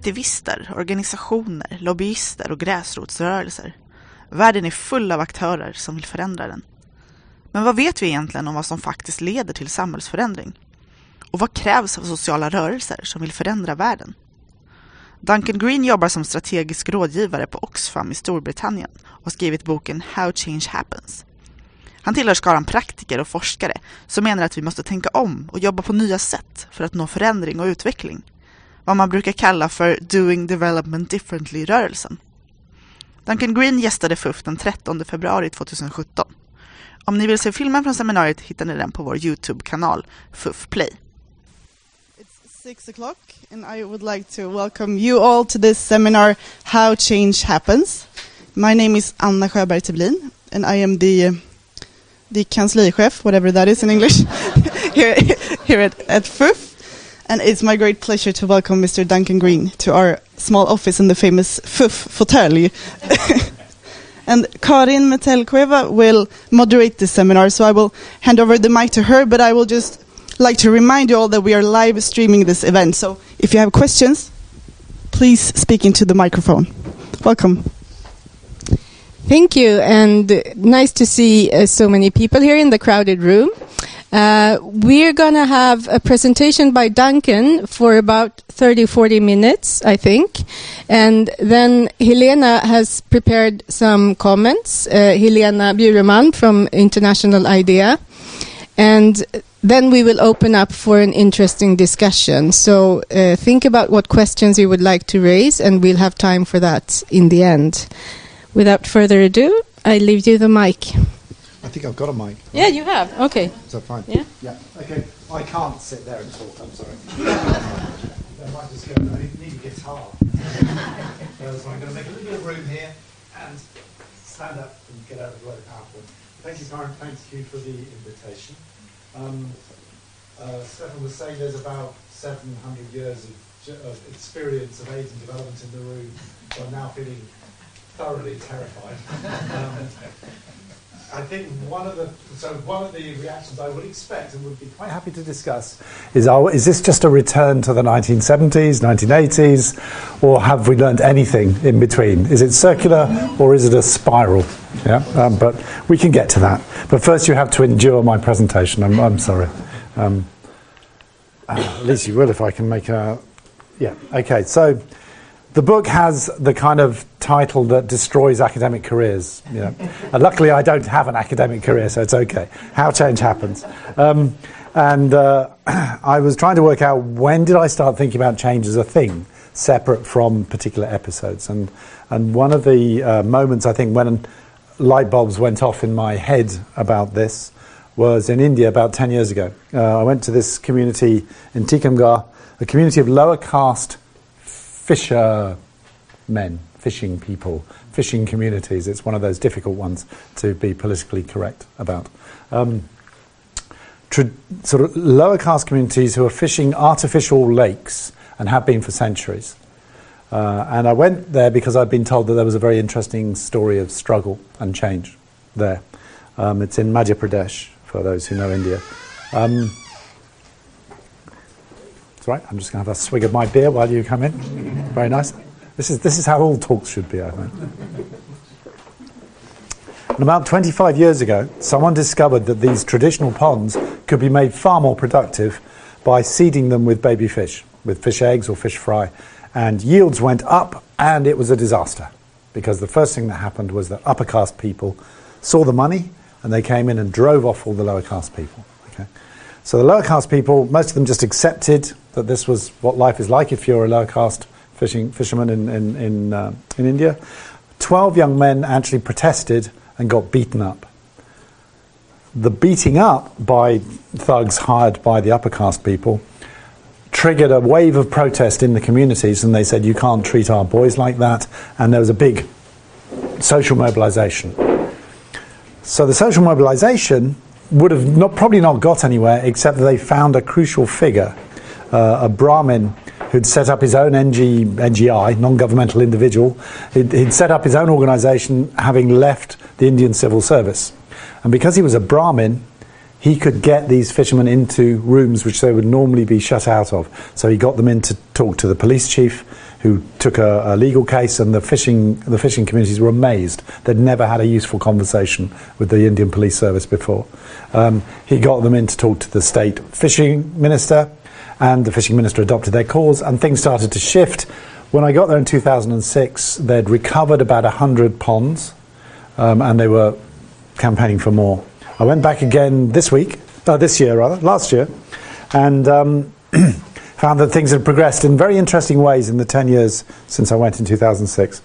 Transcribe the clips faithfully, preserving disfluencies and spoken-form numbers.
aktivister, organisationer, lobbyister och gräsrotsrörelser. Världen är full av aktörer som vill förändra den. Men vad vet vi egentligen om vad som faktiskt leder till samhällsförändring? Och vad krävs av sociala rörelser som vill förändra världen? Duncan Green jobbar som strategisk rådgivare på Oxfam i Storbritannien och har skrivit boken How Change Happens. Han tillhör skaran praktiker och forskare som menar att vi måste tänka om och jobba på nya sätt för att nå förändring och utveckling. Vad man brukar kalla för Doing Development Differently-rörelsen. Duncan Green gästade F U F den trettonde februari tjugohundrasjutton. Om ni vill se filmen från seminariet hittar ni den på vår YouTube-kanal F U F Play. It's six o'clock and I would like to welcome you all to this seminar How Change Happens. My name is Anna Sjöberg Teblin and I am the the kanslichef, whatever that is in English, here, here at, at F U F. And it's my great pleasure to welcome Mister Duncan Green to our small office in the famous F U F fåtölj. And Karin Metellkueva will moderate this seminar, so I will hand over the mic to her, but I will just like to remind you all that we are live streaming this event. So if you have questions, please speak into the microphone. Welcome. Thank you, and nice to see uh, so many people here in the crowded room. Uh, we're going to have a presentation by Duncan for about thirty, forty minutes, I think. And then Helena has prepared some comments. Uh, Helena Bjureman from International IDEA. And then we will open up for an interesting discussion. So uh, think about what questions you would like to raise, and we'll have time for that in the end. Without further ado, I leave you the mic. I think I've got a mic. Yeah, you have. Okay. Is that fine? Yeah. Yeah. Okay. I can't sit there and talk. I'm sorry. I might just go. I need a guitar. uh, so I'm going to make a little bit of room here and stand up and get out of the way of PowerPoint. Thank you, Karen. Thank you for the invitation. Um, uh, Stefan was saying there's about seven hundred years of, of experience of AIDS and development in the room. So I'm now feeling thoroughly terrified. Um, I think one of the so one of the reactions I would expect and would be quite happy to discuss is: are, is this just a return to the nineteen seventies, nineteen eighties, or have we learned anything in between? Is it circular or is it a spiral? Yeah, um, but we can get to that. But first, you have to endure my presentation. I'm, I'm sorry. Um, uh, at least you will if I can make a. Yeah. Okay. So. The book has the kind of title that destroys academic careers. You know. And luckily, I don't have an academic career, so it's okay. How Change Happens. Um, and uh, I was trying to work out when did I start thinking about change as a thing, separate from particular episodes. And and one of the uh, moments, I think, when light bulbs went off in my head about this was in India about ten years ago. Uh, I went to this community in Tikamgarh, a community of lower caste fishermen, fishing people, fishing communities. It's one of those difficult ones to be politically correct about. Um, tra- sort of lower caste communities who are fishing artificial lakes and have been for centuries. Uh, and I went there because I'd been told that there was a very interesting story of struggle and change there. Um, it's in Madhya Pradesh, for those who know India. Um, Right, I'm just going to have a swig of my beer while you come in. Very nice. This is this is how all talks should be, I think. And about twenty-five years ago, someone discovered that these traditional ponds could be made far more productive by seeding them with baby fish, with fish eggs or fish fry. And yields went up, and it was a disaster. Because the first thing that happened was that upper caste people saw the money, and they came in and drove off all the lower caste people. Okay. So the lower caste people, most of them just accepted that this was what life is like if you're a lower caste fishing fisherman in in in, uh, in India. Twelve young men actually protested and got beaten up. The beating up by thugs hired by the upper caste people triggered a wave of protest in the communities, and they said, you can't treat our boys like that, and there was a big social mobilization. So the social mobilization would have not, probably not got anywhere, except that they found a crucial figure, uh, a Brahmin who'd set up his own N G, N G I, non-governmental individual. He'd, he'd set up his own organisation, having left the Indian civil service. And because he was a Brahmin, he could get these fishermen into rooms which they would normally be shut out of. So he got them in to talk to the police chief, who took a, a legal case, and the fishing the fishing communities were amazed. They'd never had a useful conversation with the Indian Police Service before. Um, he got them in to talk to the state fishing minister, and the fishing minister adopted their cause, and things started to shift. When I got there in two thousand six, they'd recovered about one hundred ponds, um, and they were campaigning for more. I went back again this week, uh, this year rather, last year, and um, found that things had progressed in very interesting ways in the ten years since I went in two thousand six.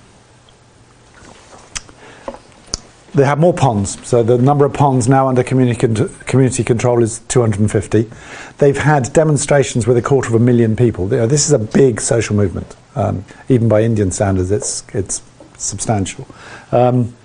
They have more ponds, so the number of ponds now under community, con- community control is two hundred fifty. They've had demonstrations with a quarter of a million people. You know, this is a big social movement. Um, even by Indian standards, it's, it's substantial. Um,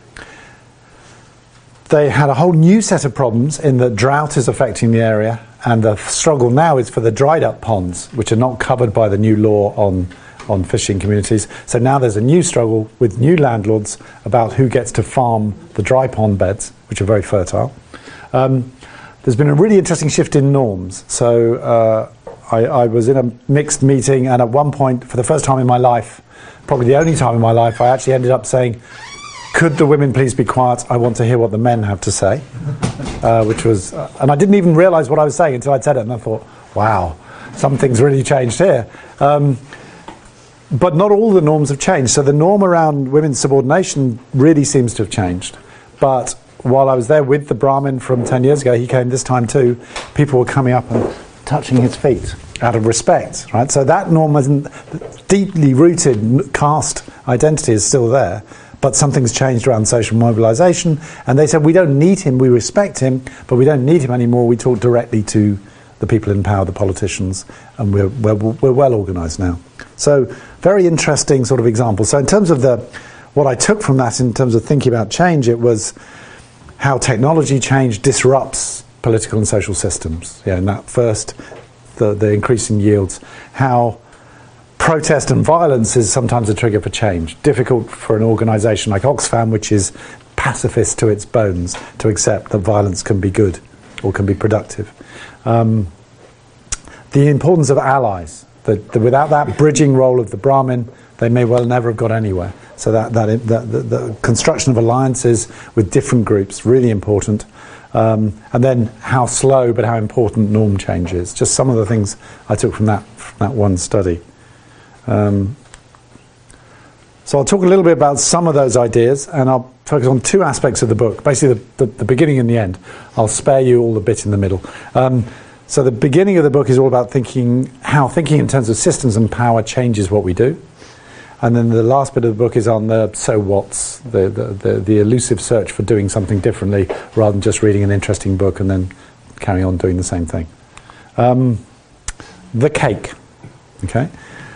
they had a whole new set of problems in that drought is affecting the area, and the struggle now is for the dried up ponds, which are not covered by the new law on on fishing communities. So now there's a new struggle with new landlords about who gets to farm the dry pond beds, which are very fertile. Um, there's been a really interesting shift in norms. So uh, I, I was in a mixed meeting, and at one point, for the first time in my life, probably the only time in my life, I actually ended up saying, could the women please be quiet? I want to hear what the men have to say. Uh, which was, uh, and I didn't even realise what I was saying until I'd said it, and I thought, wow, something's really changed here. Um, But not all the norms have changed. So the norm around women's subordination really seems to have changed. But while I was there with the Brahmin from ten years ago, he came this time too, people were coming up and touching his feet out of respect, right? So that norm isn't deeply rooted caste identity is still there, but something's changed around social mobilisation. And they said, we don't need him, we respect him, but we don't need him anymore. We talk directly to the people in power, the politicians, and we're, we're, we're well organised now. So very interesting sort of example. So in terms of the, what I took from that in terms of thinking about change, it was how technology change disrupts political and social systems. Yeah, and that first, the, the increasing yields, how protest and violence is sometimes a trigger for change. Difficult for an organisation like Oxfam, which is pacifist to its bones, to accept that violence can be good or can be productive. Um, the importance of allies. That, that without that bridging role of the Brahmin, they may well never have got anywhere. So that, that, that the, the construction of alliances with different groups, really important. Um, and then how slow but how important norm change is. Just some of the things I took from that, from that one study. Um, so I'll talk a little bit about some of those ideas, and I'll focus on two aspects of the book, basically the, the, the beginning and the end. I'll spare you all the bit in the middle. Um, So the beginning of the book is all about thinking, how thinking in terms of systems and power changes what we do. And then the last bit of the book is on the so what's, the, the, the, the elusive search for doing something differently rather than just reading an interesting book and then carrying on doing the same thing. Um, the cake, okay?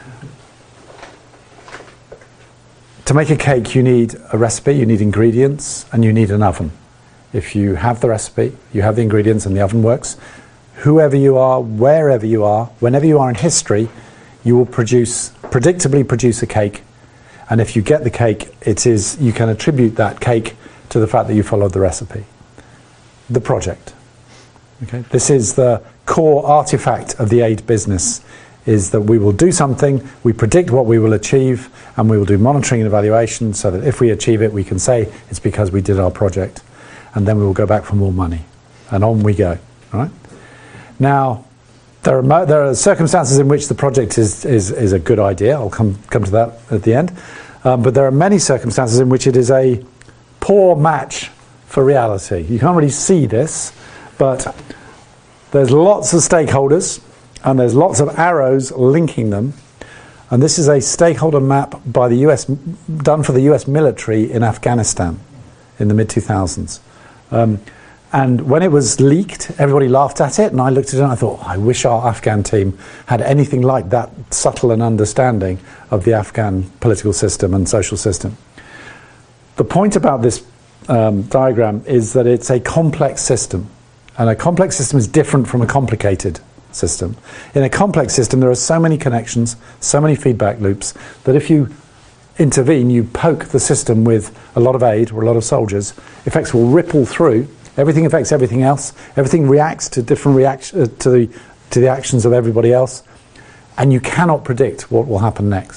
To make a cake you need a recipe, you need ingredients, and you need an oven. If you have the recipe, you have the ingredients and the oven works, whoever you are, wherever you are, whenever you are in history, you will produce, predictably produce a cake. And if you get the cake, it is, you can attribute that cake to the fact that you followed the recipe. The project. Okay? This is the core artifact of the aid business, is that we will do something, we predict what we will achieve, and we will do monitoring and evaluation so that if we achieve it, we can say it's because we did our project. And then we will go back for more money. And on we go. All right? Now, there are, mo- there are circumstances in which the project is, is, is a good idea. I'll come, come to that at the end. Um, but there are many circumstances in which it is a poor match for reality. You can't really see this, but there's lots of stakeholders, and there's lots of arrows linking them. And this is a stakeholder map by the U S, done for the U S military in Afghanistan in the mid two thousands. Um, And when it was leaked, everybody laughed at it, and I looked at it and I thought, oh, I wish our Afghan team had anything like that subtle an understanding of the Afghan political system and social system. The point about this um, diagram is that it's a complex system, and a complex system is different from a complicated system. In a complex system, there are so many connections, so many feedback loops, that if you intervene, you poke the system with a lot of aid or a lot of soldiers, effects will ripple through. Everything affects everything else. Everything reacts to different reaction uh, to the to the actions of everybody else, and you cannot predict what will happen next.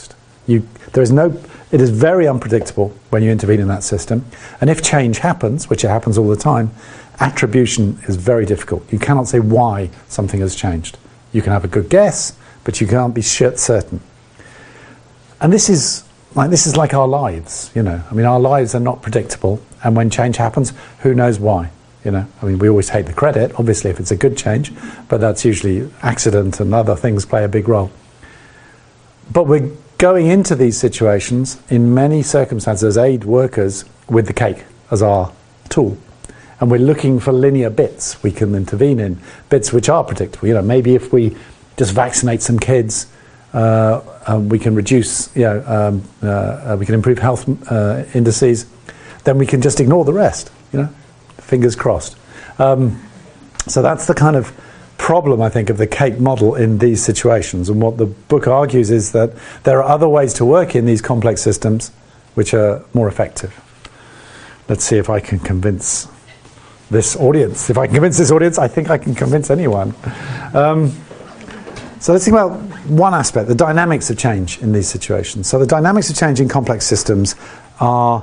You, there is no, it is very unpredictable when you intervene in that system. And if change happens, which it happens all the time, attribution is very difficult. You cannot say why something has changed. You can have a good guess, but you can't be certain. And this is like this is like our lives, you know. I mean, our lives are not predictable, and when change happens, who knows why? You know, I mean, we always take the credit, obviously, if it's a good change, but that's usually accident and other things play a big role. But we're going into these situations in many circumstances as aid workers with the cake as our tool. And we're looking for linear bits we can intervene in, bits which are predictable. You know, maybe if we just vaccinate some kids, uh, uh, we can reduce, you know, um, uh, uh, we can improve health uh, indices, then we can just ignore the rest, you know, fingers crossed. Um, so that's the kind of problem, I think, of the cake model in these situations. And what the book argues is that there are other ways to work in these complex systems which are more effective. Let's see if I can convince this audience. If I can convince this audience, I think I can convince anyone. Um, so let's think about one aspect, the dynamics of change in these situations. So the dynamics of change in complex systems are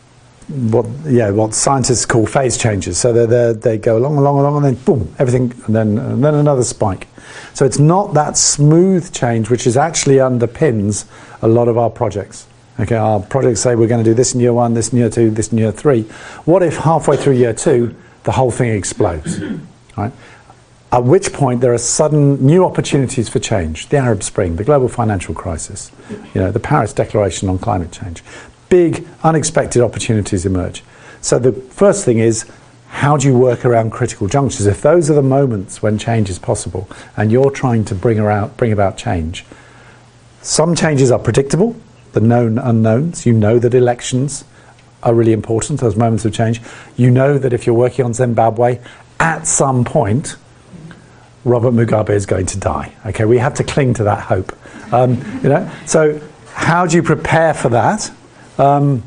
what yeah what scientists call phase changes. So they're, they're, they go along, along, along, and then boom, everything, and then and then another spike. So it's not that smooth change which is actually underpins a lot of our projects. Okay, our projects say we're going to do this in year one, this in year two, this in year three. What if halfway through year two, the whole thing explodes? Right? At which point there are sudden new opportunities for change. The Arab Spring, the global financial crisis, you know, the Paris Declaration on climate change. Big, unexpected opportunities emerge. So the first thing is, how do you work around critical junctures? If those are the moments when change is possible, and you're trying to bring, around, bring about change, some changes are predictable, the known unknowns. You know that elections are really important, those moments of change. You know that if you're working on Zimbabwe, at some point, Robert Mugabe is going to die. Okay, we have to cling to that hope. Um, you know, so how do you prepare for that? Um,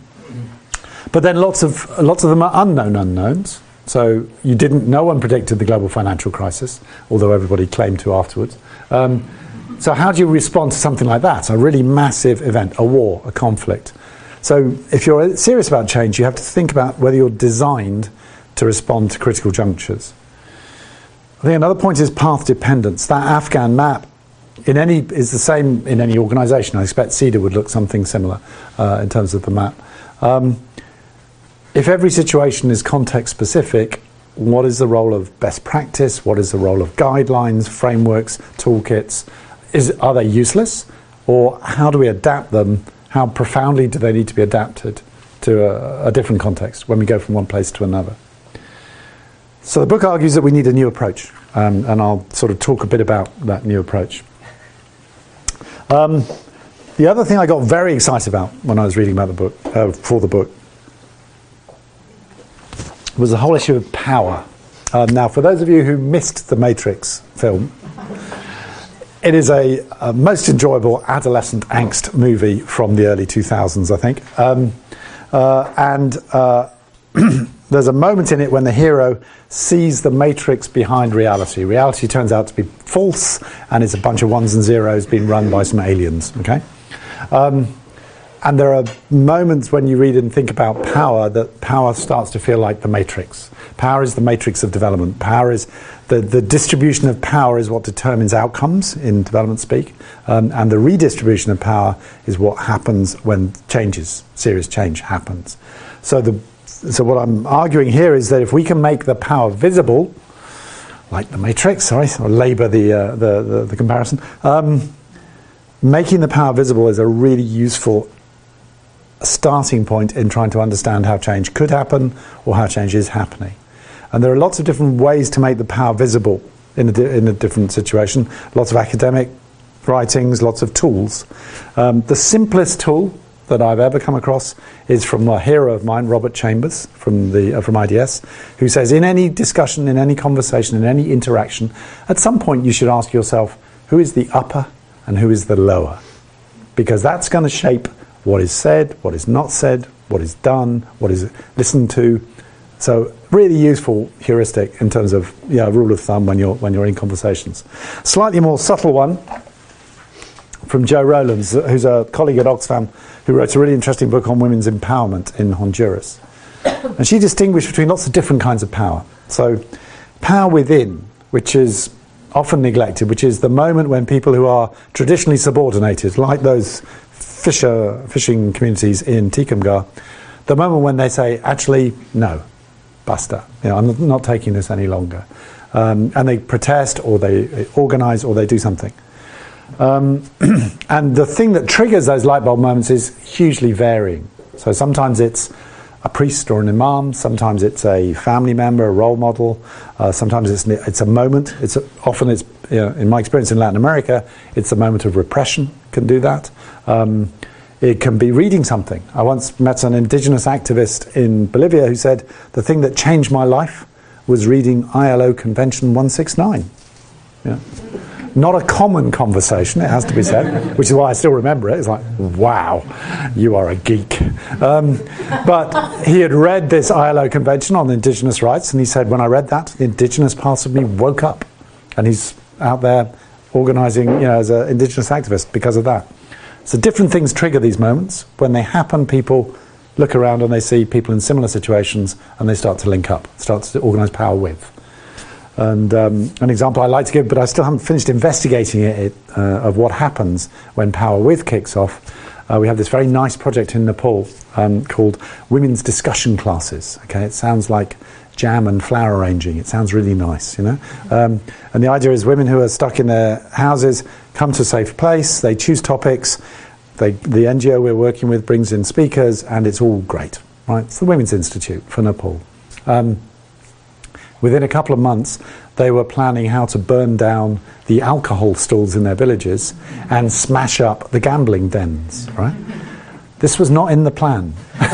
but then lots of lots of them are unknown unknowns. So you didn't. No one predicted the global financial crisis, although everybody claimed to afterwards. Um, so how do you respond to something like that? A really massive event, a war, a conflict. So if you're serious about change, you have to think about whether you're designed to respond to critical junctures. I think another point is path dependence. That Afghan map in any is the same in any organisation. I expect CEDA would look something similar uh, in terms of the map. Um, if every situation is context specific, what is the role of best practice? What is the role of guidelines, frameworks, toolkits? Is, are they useless? Or how do we adapt them? How profoundly do they need to be adapted to a, a different context when we go from one place to another? So the book argues that we need a new approach, um, and I'll sort of talk a bit about that new approach. Um, the other thing I got very excited about when I was reading about the book, uh, for the book, was the whole issue of power. Um, now, for those of you who missed the Matrix film, it is a, a most enjoyable adolescent angst movie from the early two thousands, I think. Um, uh, and uh, there's a moment in it when the hero sees the matrix behind reality. Reality turns out to be false, and it's a bunch of ones and zeros being run by some aliens. Okay, um, and there are moments when you read and think about power that power starts to feel like the matrix. Power is the matrix of development. Power is the, the distribution of power is what determines outcomes in development speak, um, and the redistribution of power is what happens when changes, serious change happens. So the So what I'm arguing here is that if we can make the power visible, like the matrix, sorry, or labour the, uh, the, the the comparison, um, making the power visible is a really useful starting point in trying to understand how change could happen or how change is happening. And there are lots of different ways to make the power visible in a, di- in a different situation. Lots of academic writings, lots of tools. Um, the simplest tool that I've ever come across is from a hero of mine, Robert Chambers, from the uh, from I D S, who says in any discussion, in any conversation, in any interaction, at some point you should ask yourself, who is the upper and who is the lower? Because that's going to shape what is said, what is not said, what is done, what is listened to. So really useful heuristic in terms of yeah, rule of thumb when you're when you're in conversations. Slightly more subtle one from Jo Rowlands, who's a colleague at Oxfam, who wrote a really interesting book on women's empowerment in Honduras. And she distinguished between lots of different kinds of power. So power within, which is often neglected, which is the moment when people who are traditionally subordinated, like those fisher fishing communities in Tikamgar, the moment when they say, actually, no, basta, you know, I'm not taking this any longer. Um, and they protest, or they organise, or they do something. Um, and the thing that triggers those light bulb moments is hugely varying. So sometimes it's a priest or an imam, sometimes it's a family member, a role model, uh, sometimes it's it's a moment. It's a, often it's, you know, in my experience in Latin America, it's a moment of repression can do that. Um, it can be reading something. I once met an indigenous activist in Bolivia who said, the thing that changed my life was reading I L O Convention one sixty-nine. Yeah. Not a common conversation, it has to be said, which is why I still remember it. It's like, wow, you are a geek. Um, but he had read this I L O Convention on Indigenous rights, and he said, when I read that, the Indigenous part of me woke up. And he's out there organising, you know, as an Indigenous activist because of that. So different things trigger these moments. When they happen, people look around and they see people in similar situations, and they start to link up, start to organise power with. And um, an example I like to give, but I still haven't finished investigating it, uh, of what happens when Power With kicks off. Uh, we have this very nice project in Nepal um, called Women's Discussion Classes. Okay, it sounds like jam and flower arranging. It sounds really nice, you know. Um, and the idea is women who are stuck in their houses come to a safe place. They choose topics. They, the N G O we're working with brings in speakers, and it's all great. Right? It's the Women's Institute for Nepal. Um, Within a couple of months, they were planning how to burn down the alcohol stalls in their villages and smash up the gambling dens, right? This was not in the plan.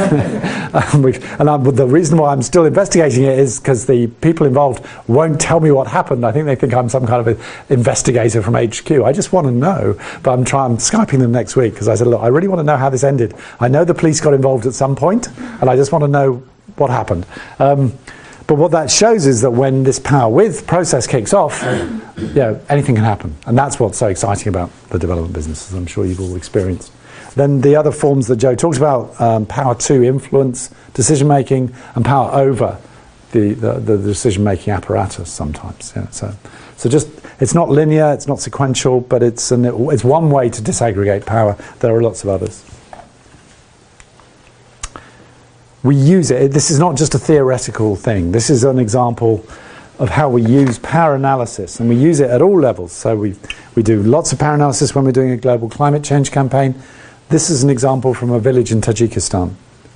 um, and I, the reason why I'm still investigating it is because the people involved won't tell me what happened. I think they think I'm some kind of an investigator from H Q. I just want to know, but I'm trying, I'm Skyping them next week because I said, look, I really want to know how this ended. I know the police got involved at some point, and I just want to know what happened. Um, But what that shows is that when this Power With process kicks off, you know, anything can happen. And that's what's so exciting about the development business, as I'm sure you've all experienced. Then the other forms that Jo talks about, um, power to influence decision-making, and power over the, the, the decision-making apparatus sometimes. Yeah, so, so just, it's not linear, it's not sequential, but it's, an, it's one way to disaggregate power. There are lots of others. We use it. This is not just a theoretical thing. This is an example of how we use power analysis, and we use it at all levels. So we we do lots of power analysis when we're doing a global climate change campaign. This is an example from a village in Tajikistan.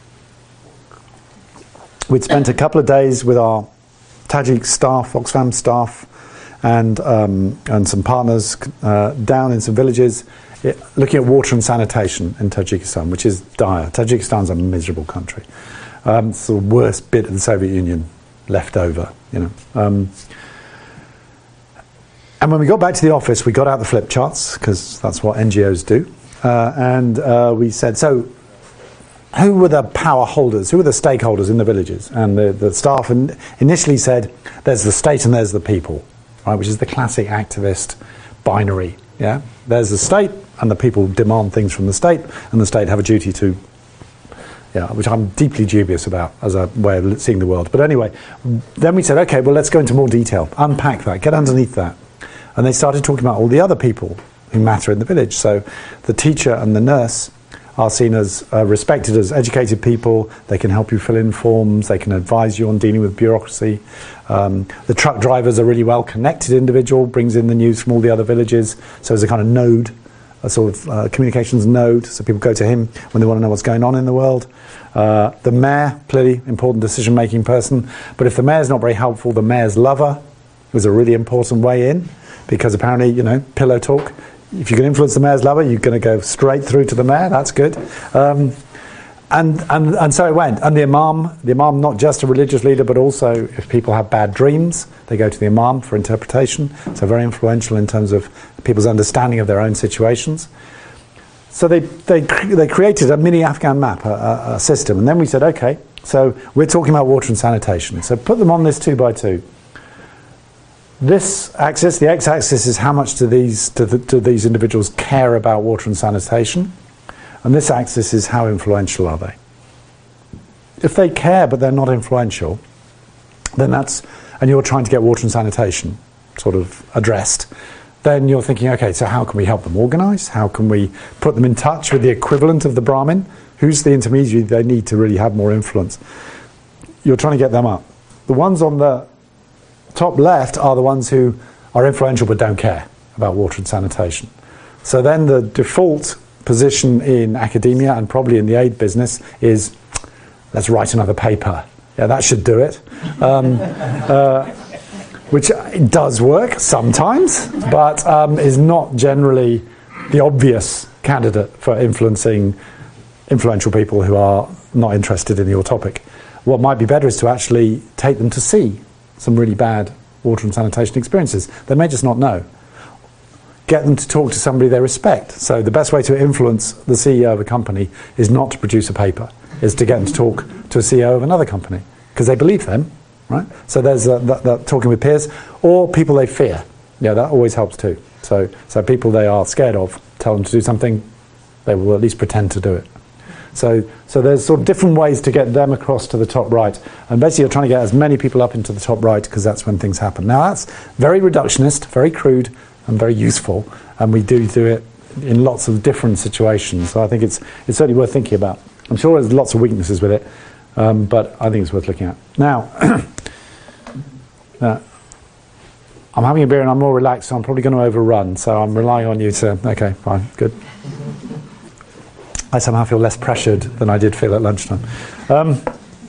We'd spent a couple of days with our Tajik staff, Oxfam staff, and um, and some partners uh, down in some villages, it, looking at water and sanitation in Tajikistan, which is dire. Tajikistan's a miserable country. Um, it's the worst bit of the Soviet Union left over, you know. Um, and when we got back to the office, we got out the flip charts, because that's what N G Os do. Uh, and uh, we said, so who were the power holders? Who were the stakeholders in the villages? And the, the staff in, initially said, there's the state and there's the people, right, which is the classic activist binary. Yeah, there's the state, and the people demand things from the state, and the state have a duty to, yeah, which I'm deeply dubious about as a way of seeing the world. But anyway, then we said, okay, well, let's go into more detail, unpack that, get underneath that. And they started talking about all the other people who matter in the village. So the teacher and the nurse are seen as uh, respected as educated people. They can help you fill in forms. They can advise you on dealing with bureaucracy. Um, the truck driver's a really well-connected individual, brings in the news from all the other villages. So there's a kind of node, a sort of uh, communications node. So people go to him when they want to know what's going on in the world. Uh, the mayor, clearly important decision-making person. But if the mayor's not very helpful, the mayor's lover was a really important way in, because apparently, you know, pillow talk. If you can influence the mayor's lover, you're going to go straight through to the mayor. That's good. Um, and, and and so it went. And the imam, the imam, not just a religious leader, but also if people have bad dreams, they go to the imam for interpretation. So very influential in terms of people's understanding of their own situations. So they they they created a mini Afghan map, a, a, a system. And then we said, okay, so we're talking about water and sanitation. So put them on this two by two. this axis, the x-axis, is how much do these, do, the, do these individuals care about water and sanitation, and this axis is how influential are they. If they care but they're not influential, then that's, and you're trying to get water and sanitation sort of addressed, then you're thinking, okay, so how can we help them organise? How can we put them in touch with the equivalent of the Brahmin? Who's the intermediary they need to really have more influence? You're trying to get them up. The ones on the top left are the ones who are influential but don't care about water and sanitation. So then the default position in academia and probably in the aid business is, let's write another paper. Yeah, that should do it. Um, uh, which does work sometimes, but um, is not generally the obvious candidate for influencing influential people who are not interested in your topic. What might be better is to actually take them to see some really bad water and sanitation experiences. They may just not know. Get them to talk to somebody they respect. So the best way to influence the C E O of a company is not to produce a paper, is to get them to talk to a C E O of another company, because they believe them, right? So there's uh, that, that talking with peers, or people they fear. Yeah, that always helps too. So, so people they are scared of, tell them to do something, they will at least pretend to do it. So, so there's sort of different ways to get them across to the top right. And basically you're trying to get as many people up into the top right, because that's when things happen. Now that's very reductionist, very crude, and very useful. And we do do it in lots of different situations. So I think it's, it's certainly worth thinking about. I'm sure there's lots of weaknesses with it, um, but I think it's worth looking at. Now, uh, I'm having a beer and I'm more relaxed, so I'm probably going to overrun. So I'm relying on you to, okay, fine, good. I somehow feel less pressured than I did feel at lunchtime. Um,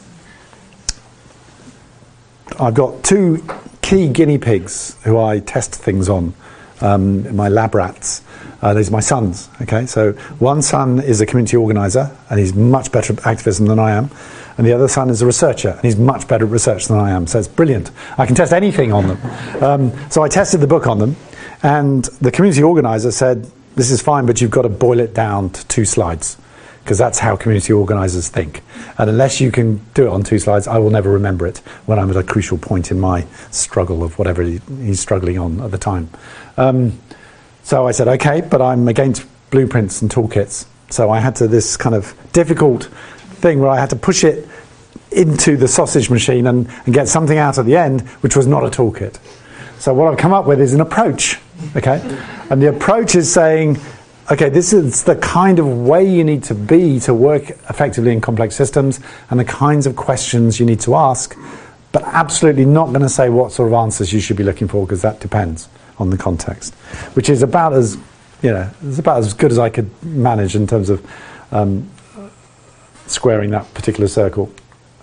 I've got two key guinea pigs who I test things on, um, my lab rats. Uh, these are my sons, okay? So one son is a community organiser, and he's much better at activism than I am. And the other son is a researcher, and he's much better at research than I am. So it's brilliant. I can test anything on them. Um, so I tested the book on them, and the community organiser said, this is fine, but you've got to boil it down to two slides, because that's how community organisers think. And unless you can do it on two slides, I will never remember it when I'm at a crucial point in my struggle of whatever he, he's struggling on at the time. Um, so I said, okay, but I'm against blueprints and toolkits. So I had to this kind of difficult thing where I had to push it into the sausage machine and, and get something out at the end, which was not a toolkit. So what I've come up with is an approach, okay? And the approach is saying, okay, this is the kind of way you need to be to work effectively in complex systems and the kinds of questions you need to ask, but absolutely not going to say what sort of answers you should be looking for, because that depends on the context, which is about as, you know, it's about as good as I could manage in terms of um, squaring that particular circle.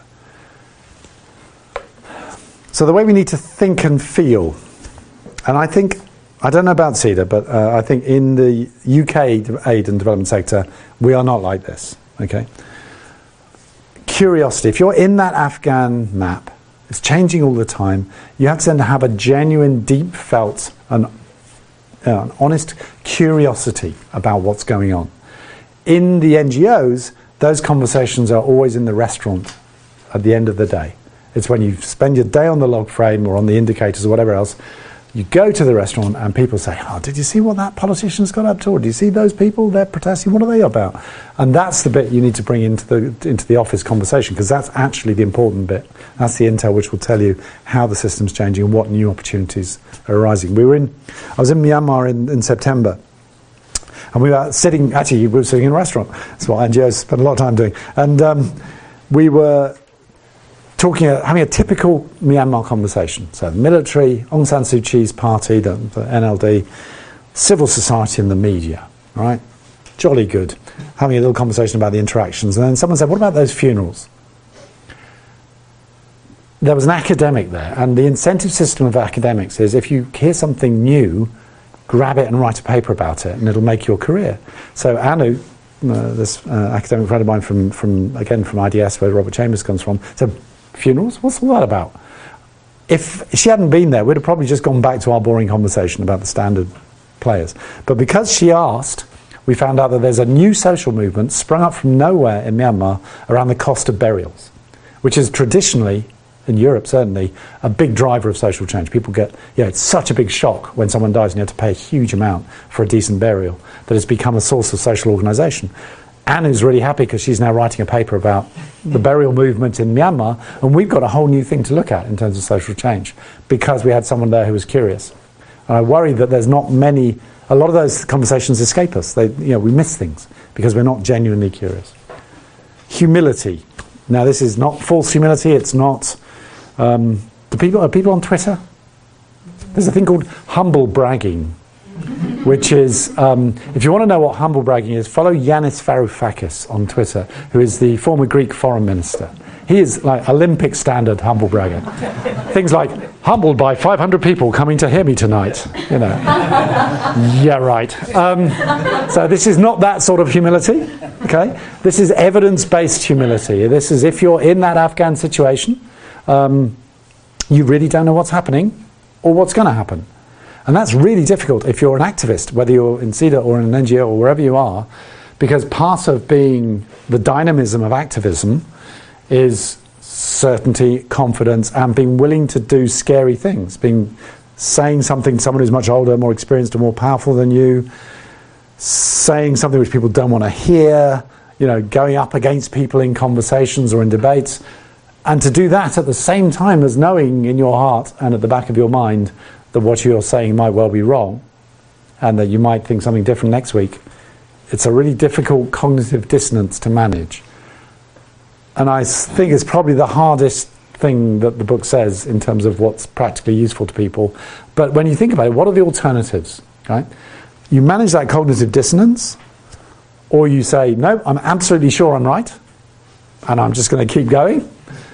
So the way we need to think and feel, and I think, I don't know about CEDA, but uh, I think in the U K aid and development sector, we are not like this, okay? Curiosity. If you're in that Afghan map, it's changing all the time, you have to then have a genuine, deep felt and uh, an honest curiosity about what's going on. In the N G Os, those conversations are always in the restaurant at the end of the day. It's when you spend your day on the log frame or on the indicators or whatever else, you go to the restaurant and people say, oh, did you see what that politician's got up to? Or do you see those people? They're protesting. What are they about? And that's the bit you need to bring into the into the office conversation, because that's actually the important bit. That's the intel which will tell you how the system's changing and what new opportunities are arising. We were in, I was in Myanmar in, in September, and we were sitting, actually we were sitting in a restaurant. That's what N G Os spend a lot of time doing. And um, we were talking, uh, having a typical Myanmar conversation. So the military, Aung San Suu Kyi's party, the, the N L D, civil society and the media, right? Jolly good. Having a little conversation about the interactions. And then someone said, what about those funerals? There was an academic there, and the incentive system of academics is if you hear something new, grab it and write a paper about it, and it'll make your career. So Anu, uh, this uh, academic friend of mine from, from, again, from I D S, where Robert Chambers comes from, said, funerals? What's all that about? If she hadn't been there, we'd have probably just gone back to our boring conversation about the standard players. But because she asked, we found out that there's a new social movement sprung up from nowhere in Myanmar around the cost of burials, which is traditionally in Europe certainly, a big driver of social change. People get, yeah, it's such a big shock when someone dies and you have to pay a huge amount for a decent burial that it's become a source of social organisation. Anna's really happy because she's now writing a paper about the burial movement in Myanmar, and we've got a whole new thing to look at in terms of social change because we had someone there who was curious. And I worry that there's not many, a lot of those conversations escape us. They, you know, we miss things because we're not genuinely curious. Humility. Now, this is not false humility. It's not. Um, do people are people on Twitter? There's a thing called humble bragging, which is, um, if you want to know what humble bragging is, follow Yanis Varoufakis on Twitter, who is the former Greek foreign minister. He is like Olympic standard humble bragger. Things like, humbled by five hundred people coming to hear me tonight. You know. Yeah, right. Um, so this is not that sort of humility. Okay. This is evidence-based humility. This is if you're in that Afghan situation, um, you really don't know what's happening or what's going to happen. And that's really difficult if you're an activist, whether you're in CEDA or in an N G O or wherever you are, because part of being the dynamism of activism is certainty, confidence, and being willing to do scary things, being saying something to someone who's much older, more experienced, or more powerful than you, saying something which people don't want to hear, you know, going up against people in conversations or in debates, and to do that at the same time as knowing in your heart and at the back of your mind that what you're saying might well be wrong and that you might think something different next week. It's a really difficult cognitive dissonance to manage. And I think it's probably the hardest thing that the book says in terms of what's practically useful to people. But when you think about it, what are the alternatives? Right? You manage that cognitive dissonance, or you say, no, I'm absolutely sure I'm right, and I'm just going to keep going.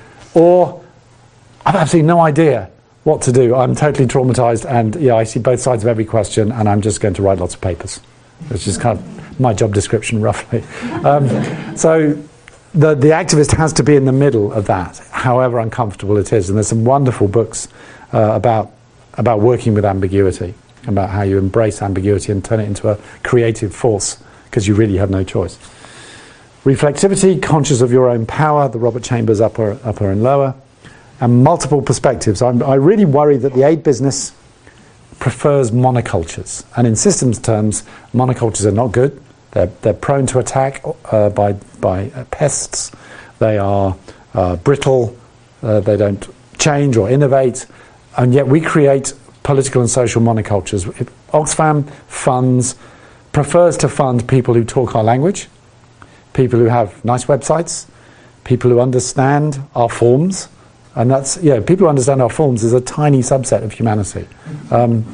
Or, I've absolutely no idea what to do. I'm totally traumatized, and yeah, I see both sides of every question, and I'm just going to write lots of papers. Which is kind of my job description, roughly. Um, so the, the activist has to be in the middle of that, however uncomfortable it is. And there's some wonderful books uh, about, about working with ambiguity, about how you embrace ambiguity and turn it into a creative force, because you really have no choice. Reflexivity, conscious of your own power, the Robert Chambers upper, upper and lower, and multiple perspectives. I'm, I really worry that the aid business prefers monocultures, and in systems terms, monocultures are not good. They're, they're prone to attack uh, by, by uh, pests. They are uh, brittle. Uh, they don't change or innovate, and yet we create political and social monocultures. Oxfam funds, prefers to fund people who talk our language, people who have nice websites, people who understand our forms, and that's, yeah, people who understand our forms is a tiny subset of humanity. Um,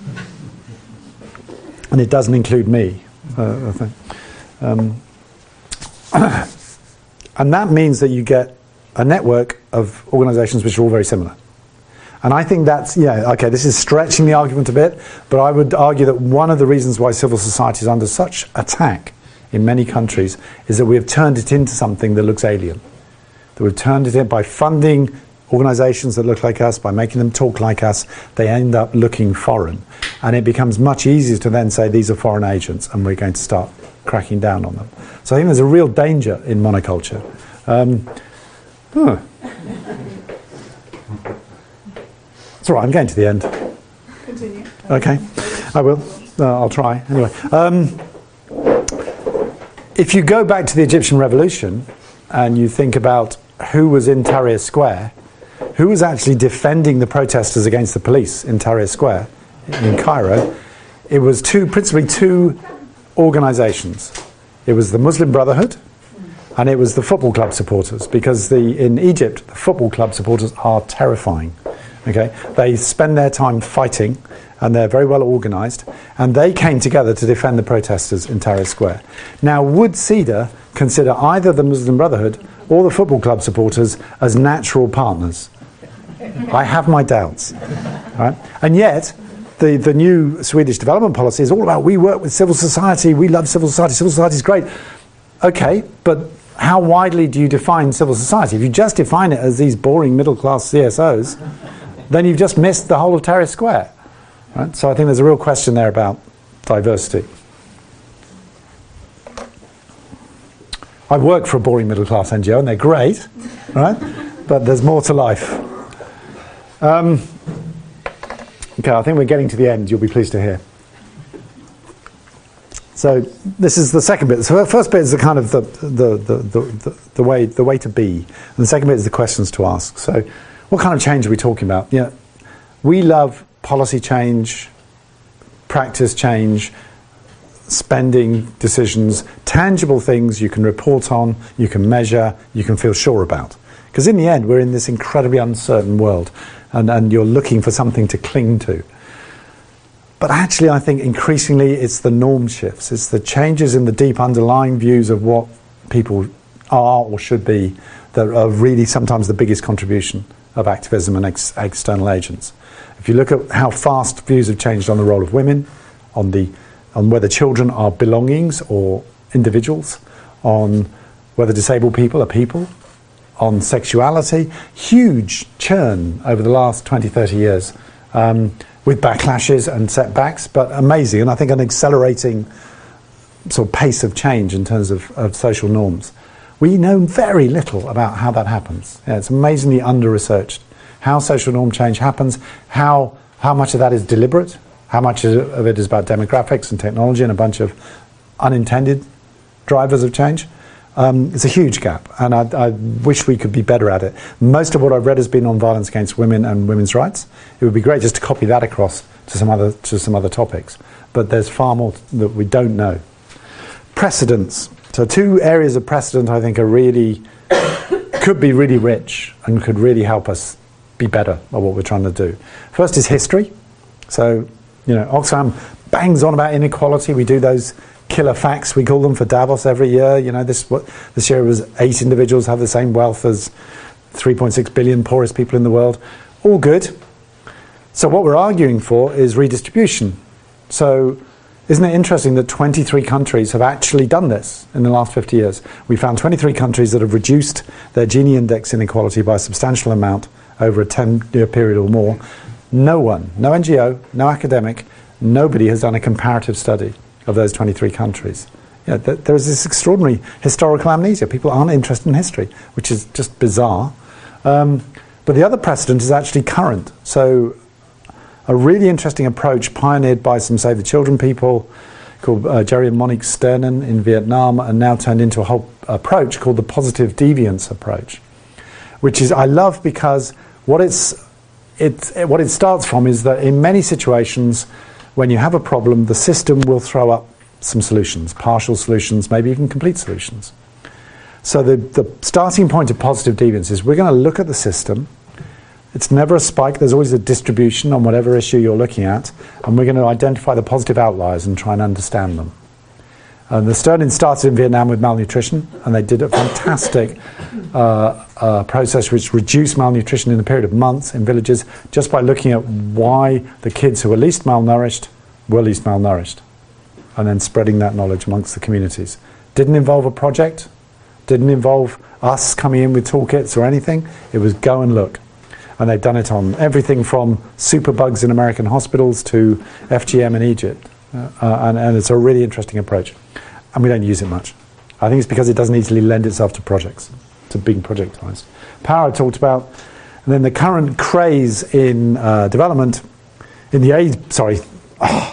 and it doesn't include me, uh, I think. Um, and that means that you get a network of organisations which are all very similar. And I think that's, yeah, okay, this is stretching the argument a bit, but I would argue that one of the reasons why civil society is under such attack in many countries is that we have turned it into something that looks alien. That we've turned it in by funding organisations that look like us, by making them talk like us, they end up looking foreign. And it becomes much easier to then say these are foreign agents and we're going to start cracking down on them. So I think there's a real danger in monoculture. Um, huh. It's all right, I'm getting to the end. Continue. Okay, I will. Uh, I'll try. Anyway, um, if you go back to the Egyptian revolution and you think about who was in Tahrir Square, who was actually defending the protesters against the police in Tahrir Square in Cairo, it was two, principally two organisations. It was the Muslim Brotherhood and it was the football club supporters, because the, in Egypt, the football club supporters are terrifying. Okay, they spend their time fighting and they're very well organised, and they came together to defend the protesters in Tahrir Square. Now, would CEDA consider either the Muslim Brotherhood or the football club supporters as natural partners? I have my doubts. Right? And yet, the, the new Swedish development policy is all about we work with civil society, we love civil society, civil society is great. Okay, but how widely do you define civil society? If you just define it as these boring middle-class C S Os, then you've just missed the whole of Tahrir Square. Right? So I think there's a real question there about diversity. I work for a boring middle-class N G O and they're great, right? But there's more to life. Um, okay, I think we're getting to the end, you'll be pleased to hear. So this is the second bit. So the first bit is the kind of the the, the, the, the, the way the way to be. And the second bit is the questions to ask. So what kind of change are we talking about? You know, we love policy change, practice change, spending decisions, tangible things you can report on, you can measure, you can feel sure about. Because in the end, we're in this incredibly uncertain world, and, and you're looking for something to cling to. But actually, I think increasingly it's the norm shifts. It's the changes in the deep underlying views of what people are or should be that are really sometimes the biggest contribution of activism and ex- external agents. If you look at how fast views have changed on the role of women, on the on whether children are belongings or individuals, on whether disabled people are people, on sexuality, huge churn over the last twenty, thirty years. Um, with backlashes and setbacks, but amazing, and I think an accelerating sort of pace of change in terms of, of social norms. We know very little about how that happens. Yeah, it's amazingly under-researched. How social norm change happens, how how much of that is deliberate, how much of it is about demographics and technology and a bunch of unintended drivers of change. Um, it's a huge gap, and I, I wish we could be better at it. Most of what I've read has been on violence against women and women's rights. It would be great just to copy that across to some other to some other topics, but there's far more that we don't know. Precedents. So two areas of precedent I think are really could be really rich and could really help us be better at what we're trying to do. First is history. So you know, Oxfam bangs on about inequality. We do those killer facts, we call them, for Davos every year. You know, this what this year was eight individuals have the same wealth as three point six billion poorest people in the world. All good. So what we're arguing for is redistribution. So isn't it interesting that twenty-three countries have actually done this in the last fifty years? We found twenty-three countries that have reduced their Gini index inequality by a substantial amount over a ten-year period or more. No one, no N G O, no academic, nobody has done a comparative study of those twenty-three countries. Yeah, th- there is this extraordinary historical amnesia. People aren't interested in history, which is just bizarre. Um, but the other precedent is actually current. So a really interesting approach pioneered by some Save the Children people called uh, Jerry and Monique Sternen in Vietnam, and now turned into a whole approach called the positive deviance approach, which is I love because what it's it, it what it starts from is that in many situations when you have a problem, the system will throw up some solutions, partial solutions, maybe even complete solutions. So the, the starting point of positive deviance is we're going to look at the system. It's never a spike, there's always a distribution on whatever issue you're looking at, and we're going to identify the positive outliers and try and understand them. And the Sternin started in Vietnam with malnutrition, and they did a fantastic uh, uh, process which reduced malnutrition in a period of months in villages just by looking at why the kids who were least malnourished were least malnourished, and then spreading that knowledge amongst the communities. Didn't involve a project, didn't involve us coming in with toolkits or anything. It was go and look. And they've done it on everything from superbugs in American hospitals to F G M in Egypt. Uh, and, and it's a really interesting approach. And we don't use it much. I think it's because it doesn't easily lend itself to projects, to being projectized. Power I talked about. And then the current craze in uh, development, in the aid, sorry, oh,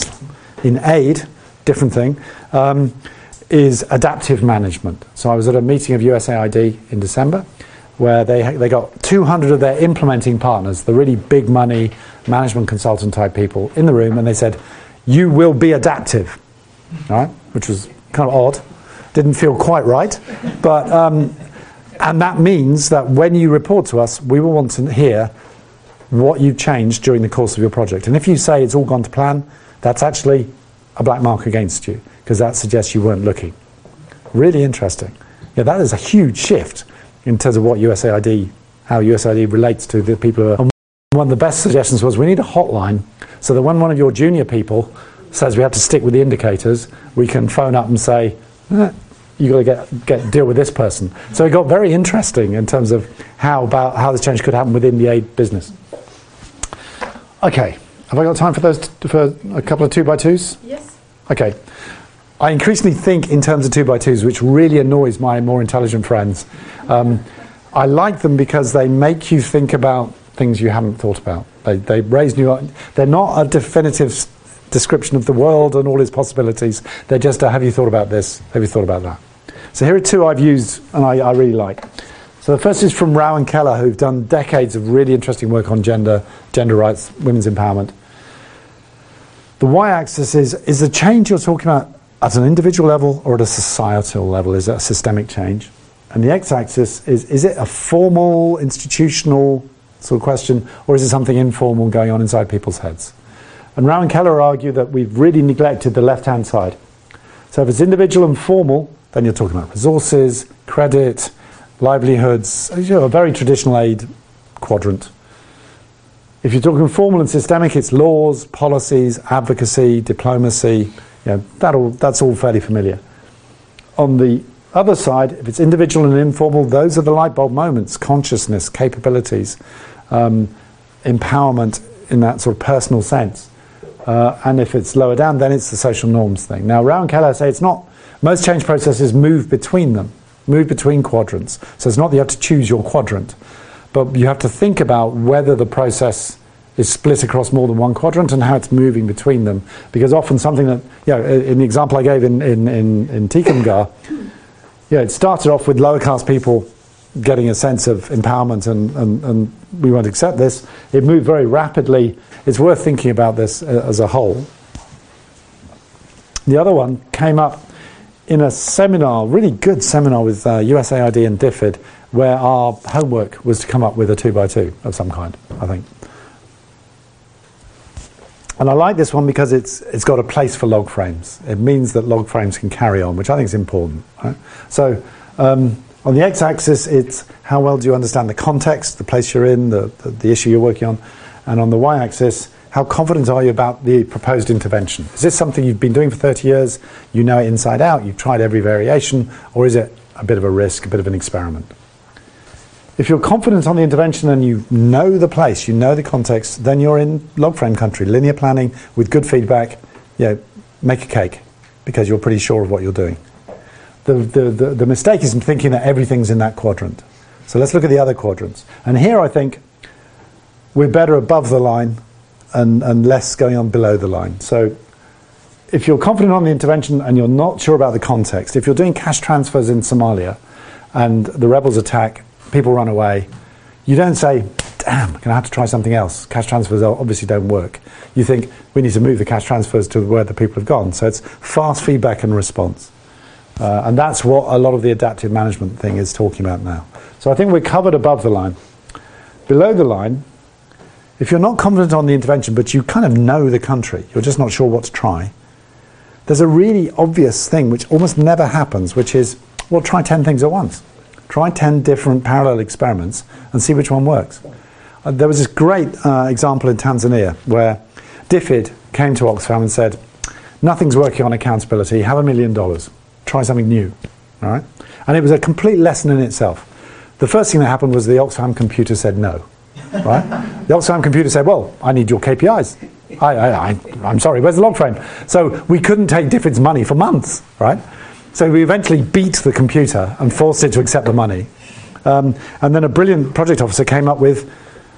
in aid, different thing, um, is adaptive management. So I was at a meeting of U S A I D in December, where they they got two hundred of their implementing partners, the really big money management consultant type people, in the room, and they said, you will be adaptive, right? Which was kind of odd, didn't feel quite right, but um, and that means that when you report to us, we will want to hear what you've changed during the course of your project. And if you say it's all gone to plan, that's actually a black mark against you, because that suggests you weren't looking. Really interesting. Yeah, that is a huge shift in terms of what U S A I D, how U S A I D relates to the people who are. And one of the best suggestions was we need a hotline so that when one of your junior people says we have to stick with the indicators, we can phone up and say, eh, you've got to get, get deal with this person. So it got very interesting in terms of how about how this change could happen within the aid business. Okay, have I got time for those t- for a couple of two by twos? Yes. Okay. I increasingly think in terms of two by twos, which really annoys my more intelligent friends. Um, I like them because they make you think about things you haven't thought about. They, they raise new... They're not a definitive s- description of the world and all its possibilities. They're just a, have you thought about this? Have you thought about that? So here are two I've used and I, I really like. So the first is from Rao and Keller, who've done decades of really interesting work on gender, gender rights, women's empowerment. The y-axis is, is the change you're talking about at an individual level or at a societal level? Is it a systemic change? And the x-axis is, is it a formal, institutional sort of question, or is it something informal going on inside people's heads? And Rao and Keller argue that we've really neglected the left-hand side. So if it's individual and formal, then you're talking about resources, credit, livelihoods, you know, a very traditional aid quadrant. If you're talking formal and systemic, it's laws, policies, advocacy, diplomacy. You know, that all, that's all fairly familiar. On the other side, if it's individual and informal, those are the light bulb moments: consciousness, capabilities, um, empowerment in that sort of personal sense. Uh, and if it's lower down, then it's the social norms thing. Now, Rao and Keller say it's not. Most change processes move between them, move between quadrants. So it's not that you have to choose your quadrant, but you have to think about whether the process is split across more than one quadrant and how it's moving between them. Because often something that, you know, in the example I gave in, in, in, in Tikamgar, yeah, it started off with lower caste people getting a sense of empowerment and, and, and we won't accept this. It moved very rapidly. It's worth thinking about this uh, as a whole. The other one came up in a seminar, really good seminar with uh, U S A I D and DFID, where our homework was to come up with a two by two of some kind, I think. And I like this one because it's it's got a place for log frames. It means that log frames can carry on, which I think is important. Right? So um, on the x-axis, it's how well do you understand the context, the place you're in, the, the, the issue you're working on. And on the y-axis, how confident are you about the proposed intervention? Is this something you've been doing for thirty years, you know it inside out, you've tried every variation, or is it a bit of a risk, a bit of an experiment? If you're confident on the intervention and you know the place, you know the context, then you're in log frame country, linear planning with good feedback. You know, make a cake because you're pretty sure of what you're doing. The, the, the, the mistake is in thinking that everything's in that quadrant. So let's look at the other quadrants. And here I think we're better above the line and, and less going on below the line. So if you're confident on the intervention and you're not sure about the context, if you're doing cash transfers in Somalia and the rebels attack, people run away, you don't say, damn, I'm going to have to try something else. Cash transfers obviously don't work. You think, we need to move the cash transfers to where the people have gone. So it's fast feedback and response. Uh, and that's what a lot of the adaptive management thing is talking about now. So I think we're covered above the line. Below the line, if you're not confident on the intervention, but you kind of know the country, you're just not sure what to try, there's a really obvious thing which almost never happens, which is, well, try ten things at once. Try ten different parallel experiments and see which one works. Uh, there was this great uh, example in Tanzania where DFID came to Oxfam and said, nothing's working on accountability, have a million dollars. Try something new. All right? And it was a complete lesson in itself. The first thing that happened was the Oxfam computer said no. Right? The Oxfam computer said, well, I need your K P Is. I, I, I, I'm sorry, where's the log frame? So we couldn't take DFID's money for months. Right? So we eventually beat the computer and forced it to accept the money. Um, and then a brilliant project officer came up with,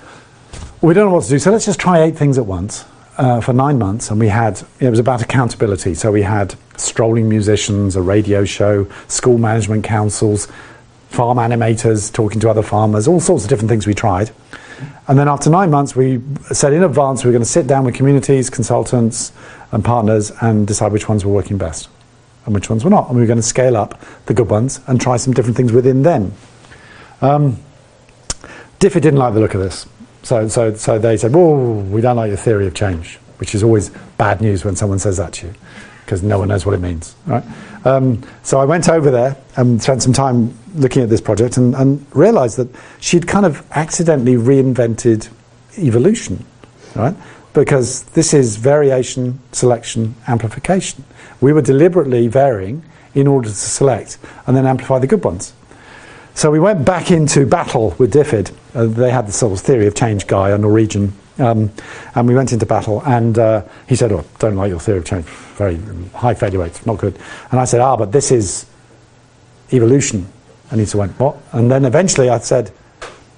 we don't know what to do, so let's just try eight things at once uh, for nine months. And we had, it was about accountability. So we had strolling musicians, a radio show, school management councils, farm animators talking to other farmers, all sorts of different things we tried. And then after nine months, we said in advance we were going to sit down with communities, consultants and partners and decide which ones were working best and which ones were not. And we were going to scale up the good ones and try some different things within them. Um, DFID didn't like the look of this. So, so, so they said, whoa, we don't like your theory of change, which is always bad news when someone says that to you, because no one knows what it means. Right? Um, so I went over there and spent some time looking at this project and, and realised that she'd kind of accidentally reinvented evolution, right? Because this is variation, selection, amplification. We were deliberately varying in order to select and then amplify the good ones. So we went back into battle with DFID. Uh, they had the sort of theory of change guy, a Norwegian, um, and we went into battle. And uh, he said, "Oh, don't like your theory of change. Very high failure rates, not good." And I said, "Ah, but this is evolution." And he said, "What?" And then eventually I said,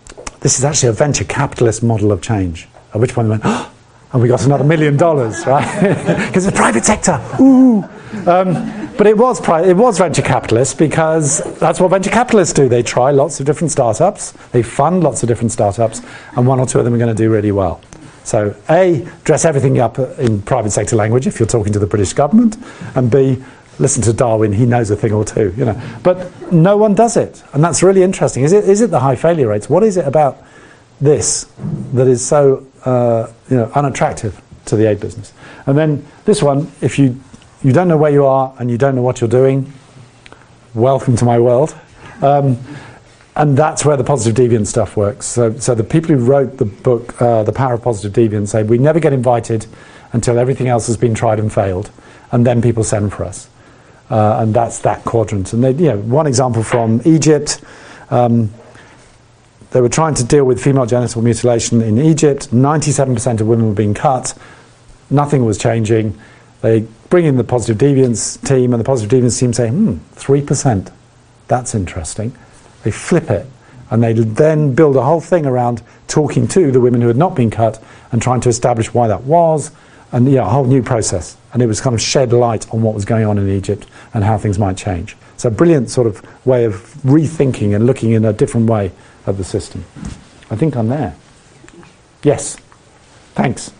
this is actually a venture capitalist model of change. At which point they went, oh, and we got another million dollars, right? Because it's private sector. Ooh. Um, but it was pri- it was venture capitalists, because that's what venture capitalists do. They try lots of different startups, they fund lots of different startups, and one or two of them are going to do really well. So A, dress everything up in private sector language if you're talking to the British government, and B, listen to Darwin, he knows a thing or two, you know. But no one does it, and that's really interesting. Is it is it the high failure rates? What is it about this that is so uh, you know unattractive to the aid business? And then this one, if you you don't know where you are and you don't know what you're doing, welcome to my world. Um, and that's where the positive deviance stuff works. So, so the people who wrote the book, uh, The Power of Positive Deviance, say we never get invited until everything else has been tried and failed, and then people send for us. Uh, and that's that quadrant. And they, you know, one example from Egypt, um, they were trying to deal with female genital mutilation in Egypt. ninety-seven percent of women were being cut. Nothing was changing. They bring in the positive deviance team, and the positive deviance team say, hmm, three percent. That's interesting. They flip it, and they then build a whole thing around talking to the women who had not been cut and trying to establish why that was, and yeah, a whole new process. And it was kind of shed light on what was going on in Egypt and how things might change. So a brilliant sort of way of rethinking and looking in a different way at the system. I think I'm there. Yes. Thanks.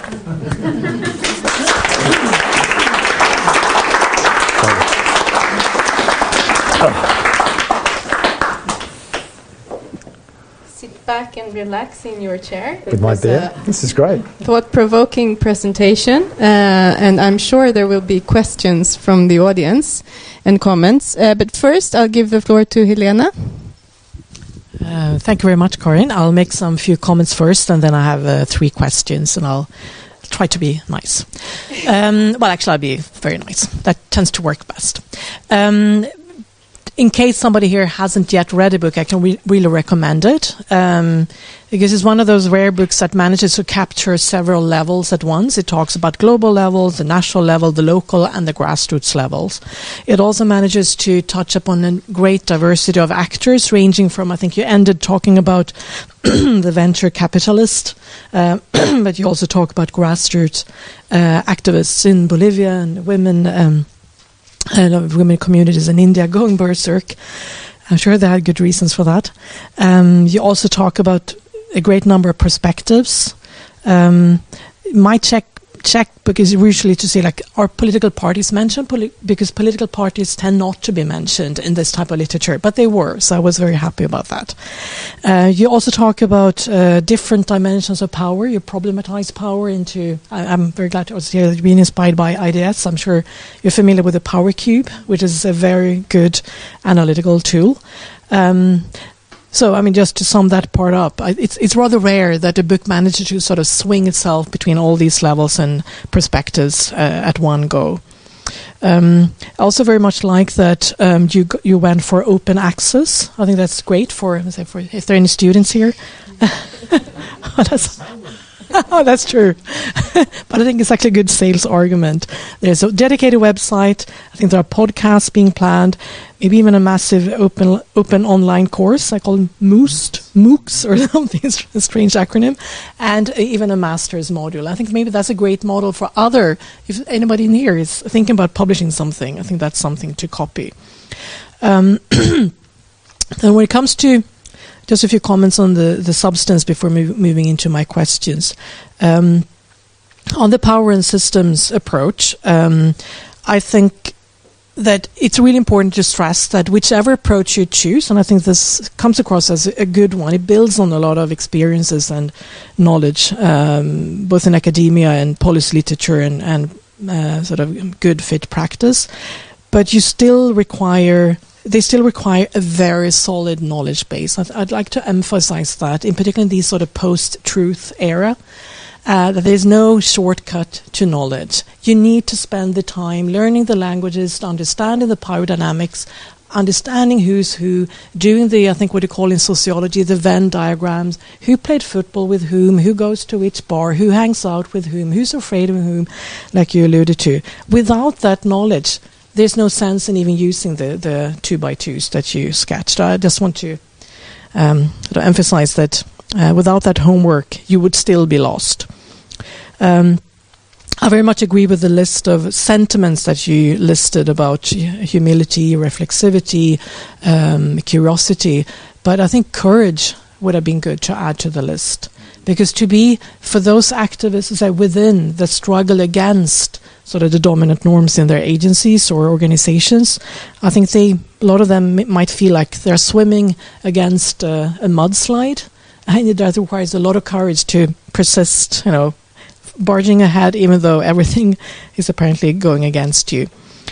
Sit back and relax in your chair. With my beer. This is great. Thought-provoking presentation, uh, and I'm sure there will be questions from the audience and comments. Uh, but first, I'll give the floor to Helena. Uh, thank you very much, Corinne. I'll make some few comments first, and then I have uh, three questions, and I'll try to be nice. Um, well, actually, I'll be very nice. That tends to work best. Um, in case somebody here hasn't yet read a book, I can re- really recommend it, um, because it's one of those rare books that manages to capture several levels at once. It talks about global levels, the national level, the local, and the grassroots levels. It also manages to touch upon a great diversity of actors, ranging from, I think you ended talking about the venture capitalist, uh, but you also talk about grassroots uh, activists in Bolivia and women, um, and women communities in India going berserk. I'm sure they had good reasons for that. Um, you also talk about a great number of perspectives. Um, my check check book is usually to see, like, are political parties mentioned? Poli- because political parties tend not to be mentioned in this type of literature, but they were, so I was very happy about that. Uh, you also talk about uh, different dimensions of power. You problematize power into, I, I'm very glad to also hear that you've been inspired by I D S. I'm sure you're familiar with the Power Cube, which is a very good analytical tool. Um, So, I mean, just to sum that part up, I, it's it's rather rare that a book manages to sort of swing itself between all these levels and perspectives uh, at one go. Um, I also very much like that um, you g- you went for open access. I think that's great for, let's say, for if there are any students here. oh, that's, oh, that's true. But I think it's actually a good sales argument. There's a dedicated website. I think there are podcasts being planned. Maybe even a massive open open online course. I call them MOOCs, MOOCs or something, it's a strange acronym. And even a master's module. I think maybe that's a great model for other, if anybody in here is thinking about publishing something, I think that's something to copy. Um, then when it comes to, just a few comments on the, the substance before move, moving into my questions. Um, on the power and systems approach, um, I think that it's really important to stress that whichever approach you choose, and I think this comes across as a good one, it builds on a lot of experiences and knowledge, um, both in academia and policy literature and, and uh, sort of good fit practice. But you still require, they still require a very solid knowledge base. I'd, I'd like to emphasize that, in particular in these sort of post-truth era. Uh, that there's no shortcut to knowledge. You need to spend the time learning the languages, understanding the power dynamics, understanding who's who, doing the, I think what you call in sociology, the Venn diagrams, who played football with whom, who goes to which bar, who hangs out with whom, who's afraid of whom, like you alluded to. Without that knowledge, there's no sense in even using the, the two by twos that you sketched. I just want to um, sort of emphasize that Uh, without that homework, you would still be lost. Um, I very much agree with the list of sentiments that you listed about humility, reflexivity, um, curiosity, but I think courage would have been good to add to the list. Because to be, for those activists say, within the struggle against sort of the dominant norms in their agencies or organizations, I think they, a lot of them m- might feel like they're swimming against uh, a mudslide, and that requires a lot of courage to persist, you know, barging ahead even though everything is apparently going against you.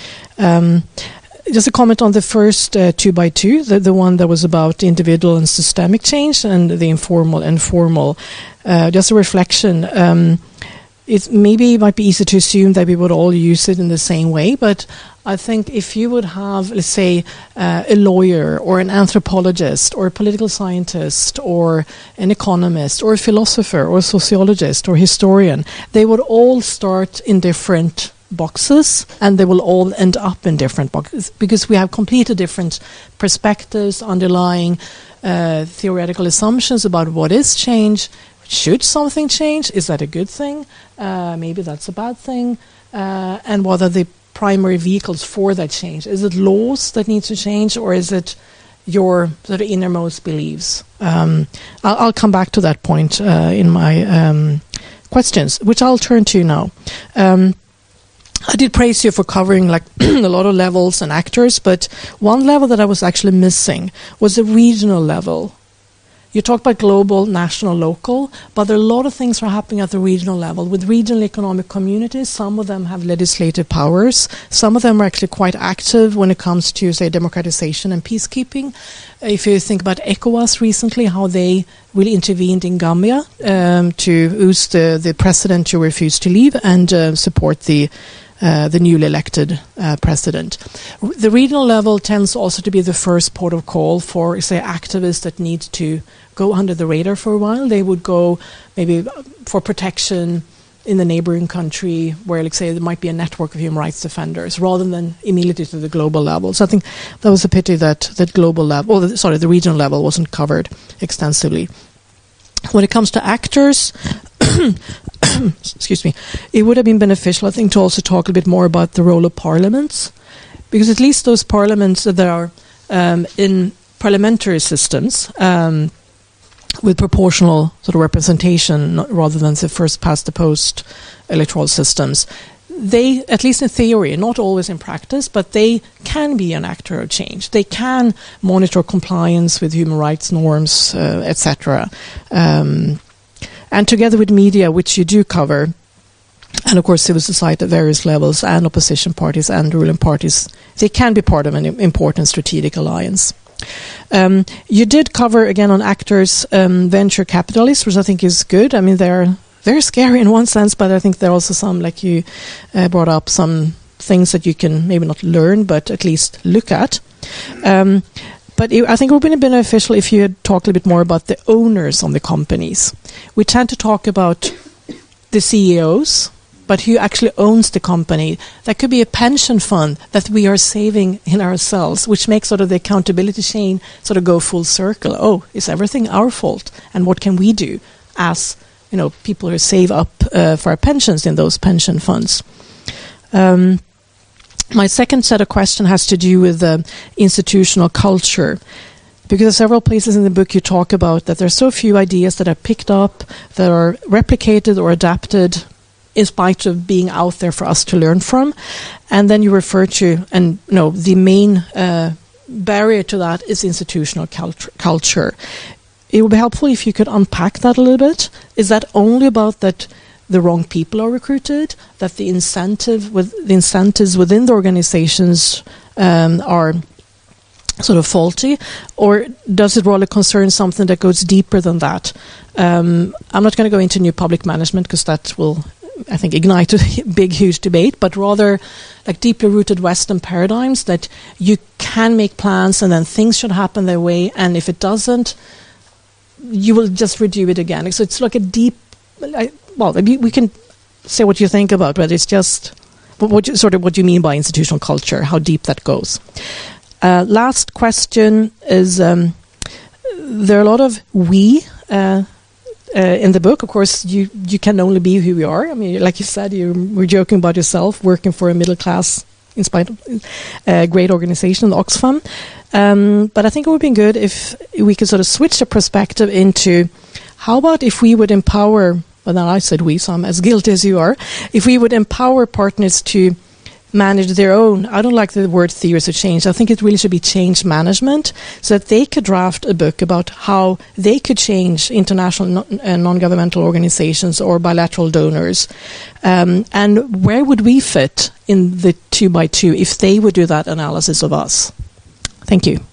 Um, Just a comment on the first uh, two by two, the, the one that was about individual and systemic change, and the informal and formal. Uh, just a reflection. Um, it maybe it might be easy to assume that we would all use it in the same way, but I think if you would have, let's say, uh, a lawyer or an anthropologist or a political scientist or an economist or a philosopher or a sociologist or historian, they would all start in different boxes, and they will all end up in different boxes because we have completely different perspectives, underlying uh, theoretical assumptions about what is change. Should something change? Is that a good thing? Uh, maybe that's a bad thing. Uh, and what are the primary vehicles for that change? Is it laws that need to change, or is it your sort of innermost beliefs? Um, I'll, I'll come back to that point uh, in my um, questions, which I'll turn to now. Um, I did praise you for covering like a lot of levels and actors, but one level that I was actually missing was the regional level. You talked about global, national, local, but there are a lot of things that are happening at the regional level. With regional economic communities, some of them have legislative powers. Some of them are actually quite active when it comes to, say, democratization and peacekeeping. If you think about ECOWAS recently, how they really intervened in Gambia um, to oust the, the president who refused to leave and uh, support the Uh, the newly elected uh, president. R- the regional level tends also to be the first port of call for, say, activists that need to go under the radar for a while. They would go maybe for protection in the neighboring country where, like, say, there might be a network of human rights defenders rather than immediately to the global level. So I think that was a pity that that global level, or the, sorry, the regional level wasn't covered extensively. When it comes to actors, excuse me, it would have been beneficial, I think, to also talk a bit more about the role of parliaments, because at least those parliaments that are um, in parliamentary systems um, with proportional sort of representation not, rather than the first past the post electoral systems, they, at least in theory, not always in practice, but they can be an actor of change. They can monitor compliance with human rights norms, uh, et cetera. Um, and together with media, which you do cover, and of course civil society at various levels, and opposition parties and ruling parties, they can be part of an important strategic alliance. Um, you did cover, again, on actors, um, venture capitalists, which I think is good. I mean, they're very scary in one sense, but I think there are also some, like you uh, brought up, some things that you can maybe not learn, but at least look at. Um, but it, I think it would have been beneficial if you had talked a little bit more about the owners on the companies. We tend to talk about the C E Os, but who actually owns the company? That could be a pension fund that we are saving in ourselves, which makes sort of the accountability chain sort of go full circle. Oh, is everything our fault? And what can we do as, you know, people who save up uh, for our pensions in those pension funds? Um, my second set of questions has to do with uh, institutional culture. Because there are several places in the book you talk about that there are so few ideas that are picked up, that are replicated or adapted in spite of being out there for us to learn from. And then you refer to, and you know, the main uh, barrier to that is institutional cult- culture. It would be helpful if you could unpack that a little bit. Is that only about that the wrong people are recruited, that the incentive with the incentives within the organizations um, are sort of faulty, or does it rather concern something that goes deeper than that? Um, I'm not going to go into new public management because that will, I think, ignite a big, huge debate, but rather like deeply rooted Western paradigms that you can make plans and then things should happen their way, and if it doesn't, you will just redo it again. So it's like a deep, like, well, we can say what you think about, but it's just what you, sort of what you mean by institutional culture, how deep that goes. Uh, last question is, um, there are a lot of we uh, uh, in the book. Of course, you, you can only be who you are. I mean, like you said, you were joking about yourself, working for a middle class, in spite of a great organization, the Oxfam. Um, but I think it would be good if we could sort of switch the perspective into, how about if we would empower, well, now I said we, so I'm as guilty as you are, if we would empower partners to manage their own, I don't like the word theories of change, I think it really should be change management, so that they could draft a book about how they could change international non- uh, non-governmental organizations or bilateral donors. Um, and where would we fit in the two by two if they would do that analysis of us? Thank you.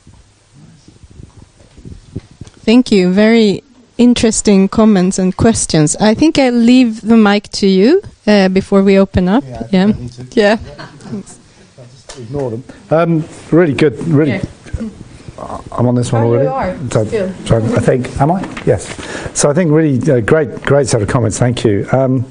Thank you. Very interesting comments and questions. I think I'll leave the mic to you uh, before we open up. Yeah. Yeah. I need to. Yeah. I'll just ignore them. Um, really good. Really. Yeah. I'm on this one Oh, already. you are, So, still. so I think, am I? Yes. So I think really uh, great, great set of comments. Thank you. Um,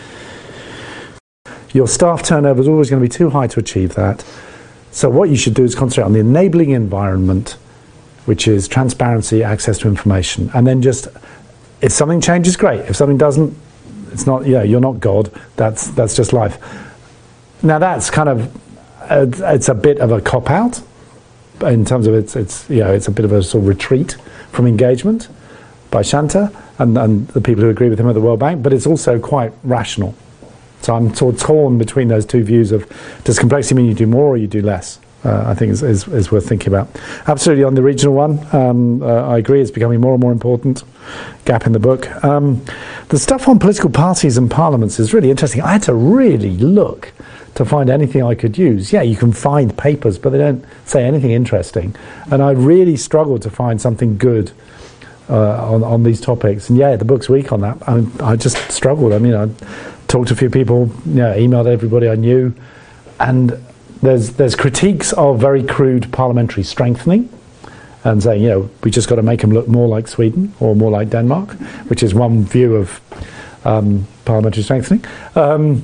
your staff turnover is always going to be too high to achieve that. So what you should do is concentrate on the enabling environment, which is transparency, access to information, and then just, if something changes, great. If something doesn't, it's not. Yeah, you're not God. That's that's just life. Now that's kind of, uh, it's a bit of a cop out. In terms of it's, it's you know, it's a bit of a sort of retreat from engagement by Shanta and, and the people who agree with him at the World Bank, but it's also quite rational. So I'm sort of torn between those two views of, does complexity mean you do more or you do less? Uh, I think is, is, is worth thinking about. Absolutely on the regional one, um, uh, I agree, it's becoming more and more important. Gap in the book. Um, the stuff on political parties and parliaments is really interesting. I had to really look to find anything I could use. Yeah, you can find papers, but they don't say anything interesting. And I really struggled to find something good uh, on, on these topics. And yeah, the book's weak on that. I, I just struggled. I mean, I talked to a few people, you know, emailed everybody I knew, and there's there's critiques of very crude parliamentary strengthening, and saying, you know, we just got to make them look more like Sweden or more like Denmark, which is one view of um, parliamentary strengthening. Um,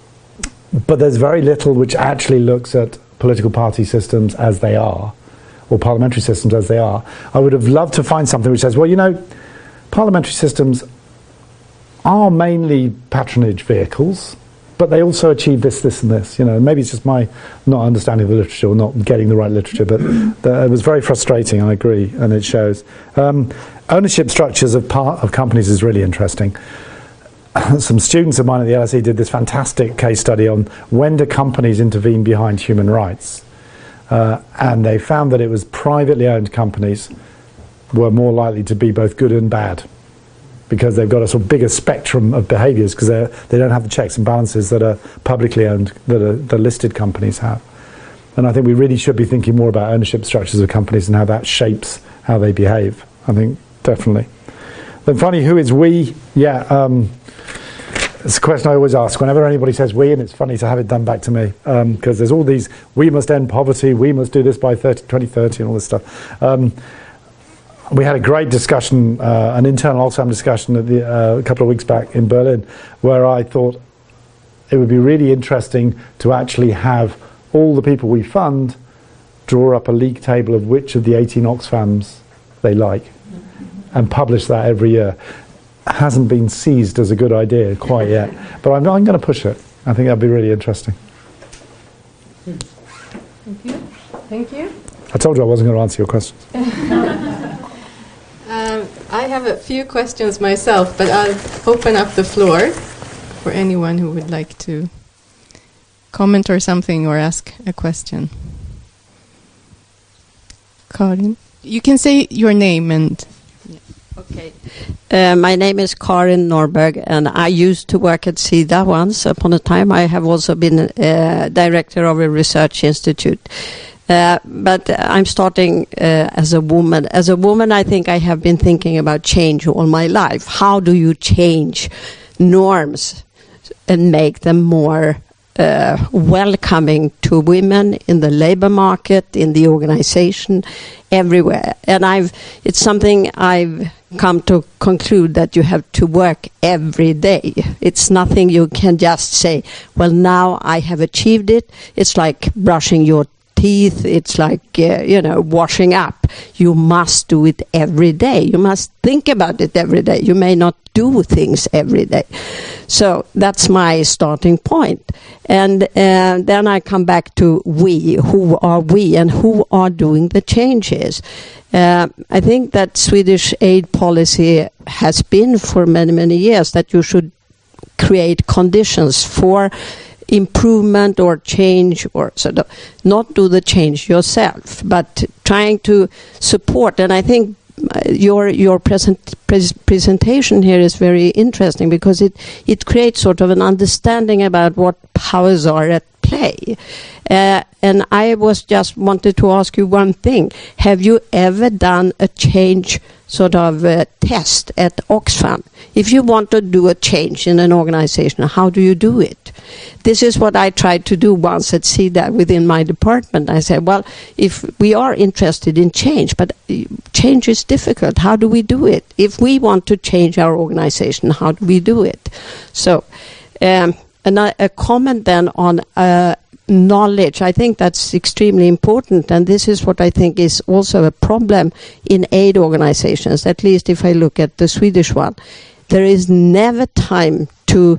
But there's very little which actually looks at political party systems as they are, or parliamentary systems as they are. I would have loved to find something which says, well, you know, parliamentary systems are mainly patronage vehicles, but they also achieve this, this and this. You know, maybe it's just my not understanding of the literature or not getting the right literature, but the, it was very frustrating, I agree, and it shows. Um, ownership structures of, part, of companies is really interesting. Some students of mine at the L S E did this fantastic case study on when do companies intervene behind human rights. Uh, and they found that it was privately owned companies were more likely to be both good and bad, because they've got a sort of bigger spectrum of behaviours, because they don't have the checks and balances that are publicly owned, that are, the listed companies have. And I think we really should be thinking more about ownership structures of companies and how that shapes how they behave. I think, definitely. Then finally, who is we? Yeah, um, it's a question I always ask whenever anybody says we, and it's funny to have it done back to me, because um, there's all these, we must end poverty, we must do this by twenty thirty and all this stuff. Um, we had a great discussion, uh, an internal Oxfam discussion at the, uh, a couple of weeks back in Berlin, where I thought it would be really interesting to actually have all the people we fund draw up a league table of which of the eighteen Oxfams they like, and publish that every year. Hasn't been seized as a good idea quite yet, but I'm, I'm going to push it. I think that'd be really interesting. Thank you. Thank you. I told you I wasn't going to answer your questions. um, I have a few questions myself, but I'll open up the floor for anyone who would like to comment or something or ask a question. Karin, you can say your name and... Okay. Uh, my name is Karin Norberg, and I used to work at SIDA once upon a time. I have also been uh, director of a research institute. Uh, but I'm starting uh, as a woman. As a woman, I think I have been thinking about change all my life. How do you change norms and make them more uh, welcoming to women in the labor market, in the organization, everywhere? And I've it's something I've come to conclude that you have to work every day. It's nothing you can just say, well, now I have achieved it. It's like brushing your teeth. It's like, uh, you know, washing up. You must do it every day. You must think about it every day. You may not do things every day. So that's my starting point. And uh, then I come back to we. Who are we and who are doing the changes? Uh, I think that Swedish aid policy has been for many, many years that you should create conditions for improvement or change, or sort of not do the change yourself, but trying to support. And I think your your present pres presentation here is very interesting because it it creates sort of an understanding about what powers are at play. Uh, and I was just wanted to ask you one thing: have you ever done a change sort of uh, test at Oxfam? If you want to do a change in an organization, how do you do it? This is what I tried to do once at C D A within my department. I said, well, if we are interested in change, but change is difficult, how do we do it? If we want to change our organization, how do we do it? So, um, and a, a comment then on uh, knowledge. I think that's extremely important, and this is what I think is also a problem in aid organizations, at least if I look at the Swedish one. There is never time to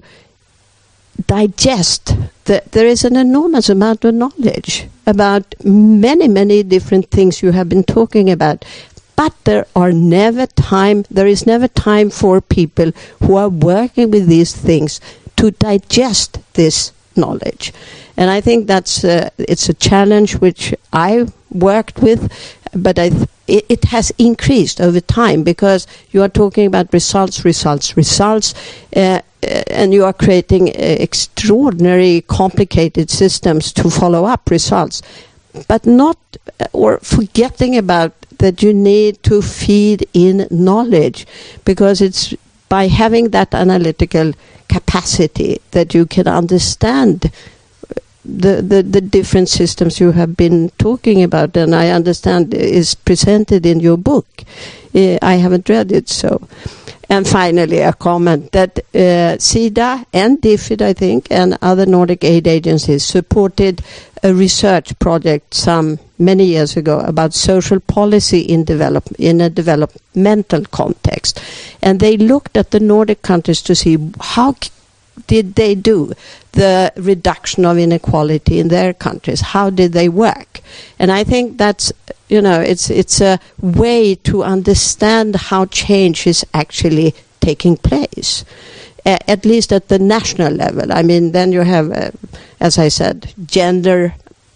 digest. The, there is an enormous amount of knowledge about many, many different things you have been talking about. But there are never time, there is never time for people who are working with these things to digest this knowledge. And I think that's uh, it's a challenge which I worked with, but I th it, it has increased over time because you are talking about results, results, results, uh, and you are creating uh, extraordinary complicated systems to follow up results, but not uh, or forgetting about that you need to feed in knowledge, because it's by having that analytical capacity that you can understand the, the, the different systems you have been talking about, and I understand is presented in your book. Uh, I haven't read it, so. And finally, a comment that uh, C D A and DFID, I think, and other Nordic aid agencies supported a research project some many years ago about social policy in develop in a developmental context, and they looked at the Nordic countries to see how did they do the reduction of inequality in their countries. How did they work? And I think that's, you know, it's it's a way to understand how change is actually taking place, uh, at least at the national level. I mean, then you have, uh, as I said, gender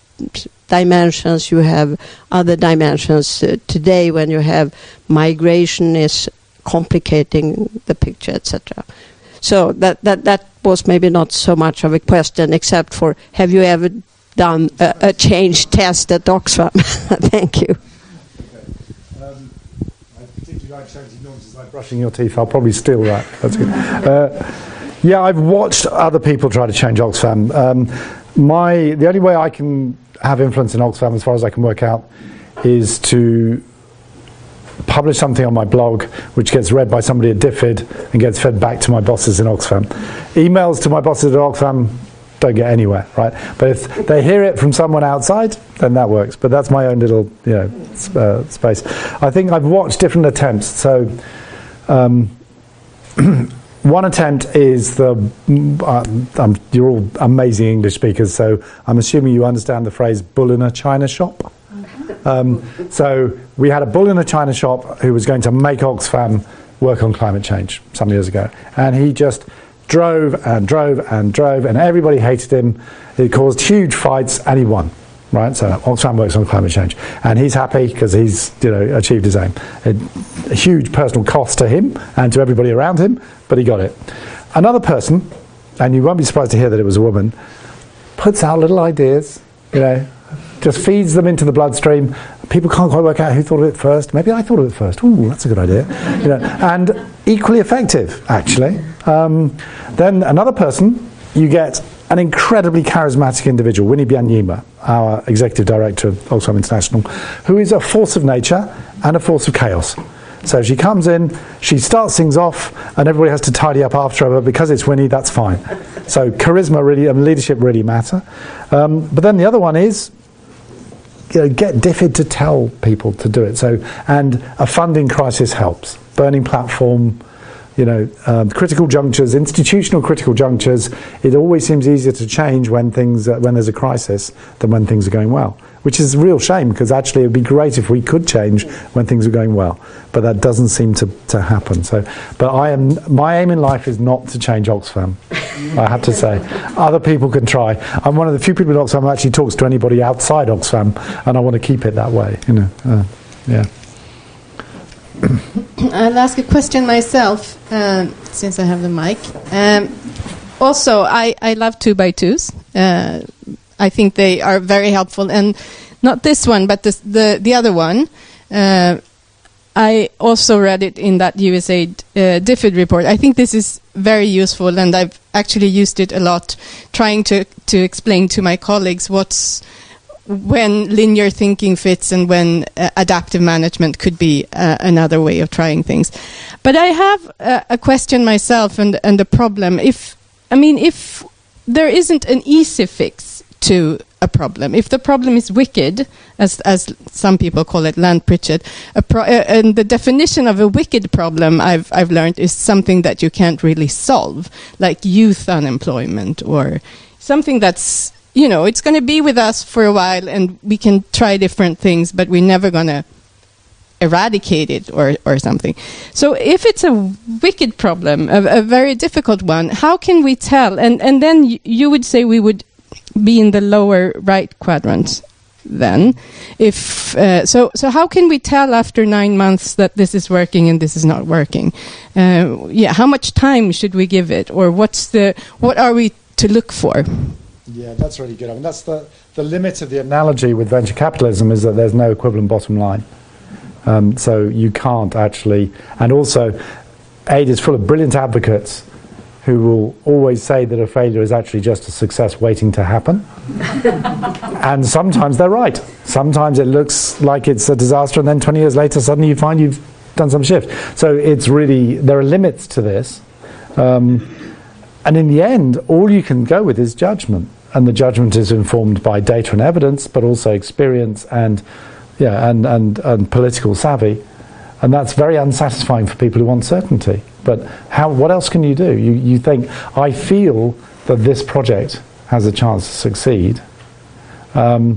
dimensions, you have other dimensions. Uh, today, when you have migration is complicating the picture, et cetera. So that, that, that was maybe not so much of a question, except for, have you ever done a, a change test at Oxfam? Thank you. Okay. Um, I particularly like changing noises like brushing your teeth. I'll probably steal that. That's good. Uh, yeah, I've watched other people try to change Oxfam. Um, my, the only way I can have influence in Oxfam, as far as I can work out, is to publish something on my blog which gets read by somebody at DFID and gets fed back to my bosses in Oxfam. Emails to my bosses at Oxfam don't get anywhere, right? But if they hear it from someone outside, then that works. But that's my own little, you know, uh, space. I think I've watched different attempts. So um, one attempt is the, uh, um, you're all amazing English speakers, so I'm assuming you understand the phrase bull in a china shop. Um, so we had a bull in a china shop who was going to make Oxfam work on climate change some years ago, and he just drove and drove and drove, and everybody hated him. It caused huge fights, and he won. Right, so Oxfam works on climate change, and he's happy because he's, you know, achieved his aim. A, a huge personal cost to him and to everybody around him, but he got it. Another person, and you won't be surprised to hear that it was a woman, puts out little ideas, you know, just feeds them into the bloodstream. People can't quite work out who thought of it first. Maybe I thought of it first. Ooh, that's a good idea. You know, and equally effective, actually. Um, then another person, you get an incredibly charismatic individual, Winnie Byanyima, our executive director of Oxfam International, who is a force of nature and a force of chaos. So she comes in, she starts things off, and everybody has to tidy up after her. But because it's Winnie, that's fine. So charisma really and leadership really matter. Um, but then the other one is you know, get DFID to tell people to do it. So, and a funding crisis helps. Burning platform, you know, um, critical junctures, institutional critical junctures. It always seems easier to change when things uh, when there's a crisis than when things are going well, which is a real shame, because actually it would be great if we could change when things are going well, but that doesn't seem to, to happen. So, but I am my aim in life is not to change Oxfam. I have to say, other people can try. I'm one of the few people in Oxfam who actually talks to anybody outside Oxfam, and I want to keep it that way. You know, uh, yeah. I'll ask a question myself, um, since I have the mic. Um, also, I, I love two by twos. Uh, I think they are very helpful, and not this one, but this, the the other one. Uh, I also read it in that U S A I D uh, DFID report. I think this is very useful, and I've actually used it a lot, trying to to explain to my colleagues what's when linear thinking fits and when uh, adaptive management could be uh, another way of trying things. But I have uh, a question myself, and and a problem. If I mean, if there isn't an easy fix to a problem, if the problem is wicked, as as some people call it, Land Pritchett, a pro- uh, and the definition of a wicked problem, I've I've learned, is something that you can't really solve, like youth unemployment or something that's, you know, it's going to be with us for a while, and we can try different things, but we're never going to eradicate it or, or something. So if it's a wicked problem, a, a very difficult one, how can we tell? And and then y- you would say we would be in the lower right quadrant then. If uh, so, so how can we tell after nine months that this is working and this is not working? Uh, yeah, how much time should we give it, or what's the what are we to look for? Yeah, that's really good. I mean, that's the, the limit of the analogy with venture capitalism, is that there's no equivalent bottom line. Um, so you can't actually... And also, A I D is full of brilliant advocates who will always say that a failure is actually just a success waiting to happen. And sometimes they're right. Sometimes it looks like it's a disaster, and then twenty years later, suddenly you find you've done some shift. So it's really... There are limits to this. Um, and in the end, all you can go with is judgment. And the judgment is informed by data and evidence, but also experience and, yeah, and, and, and political savvy. And that's very unsatisfying for people who want certainty. But how? What else can you do? You, you think, I feel that this project has a chance to succeed. Um,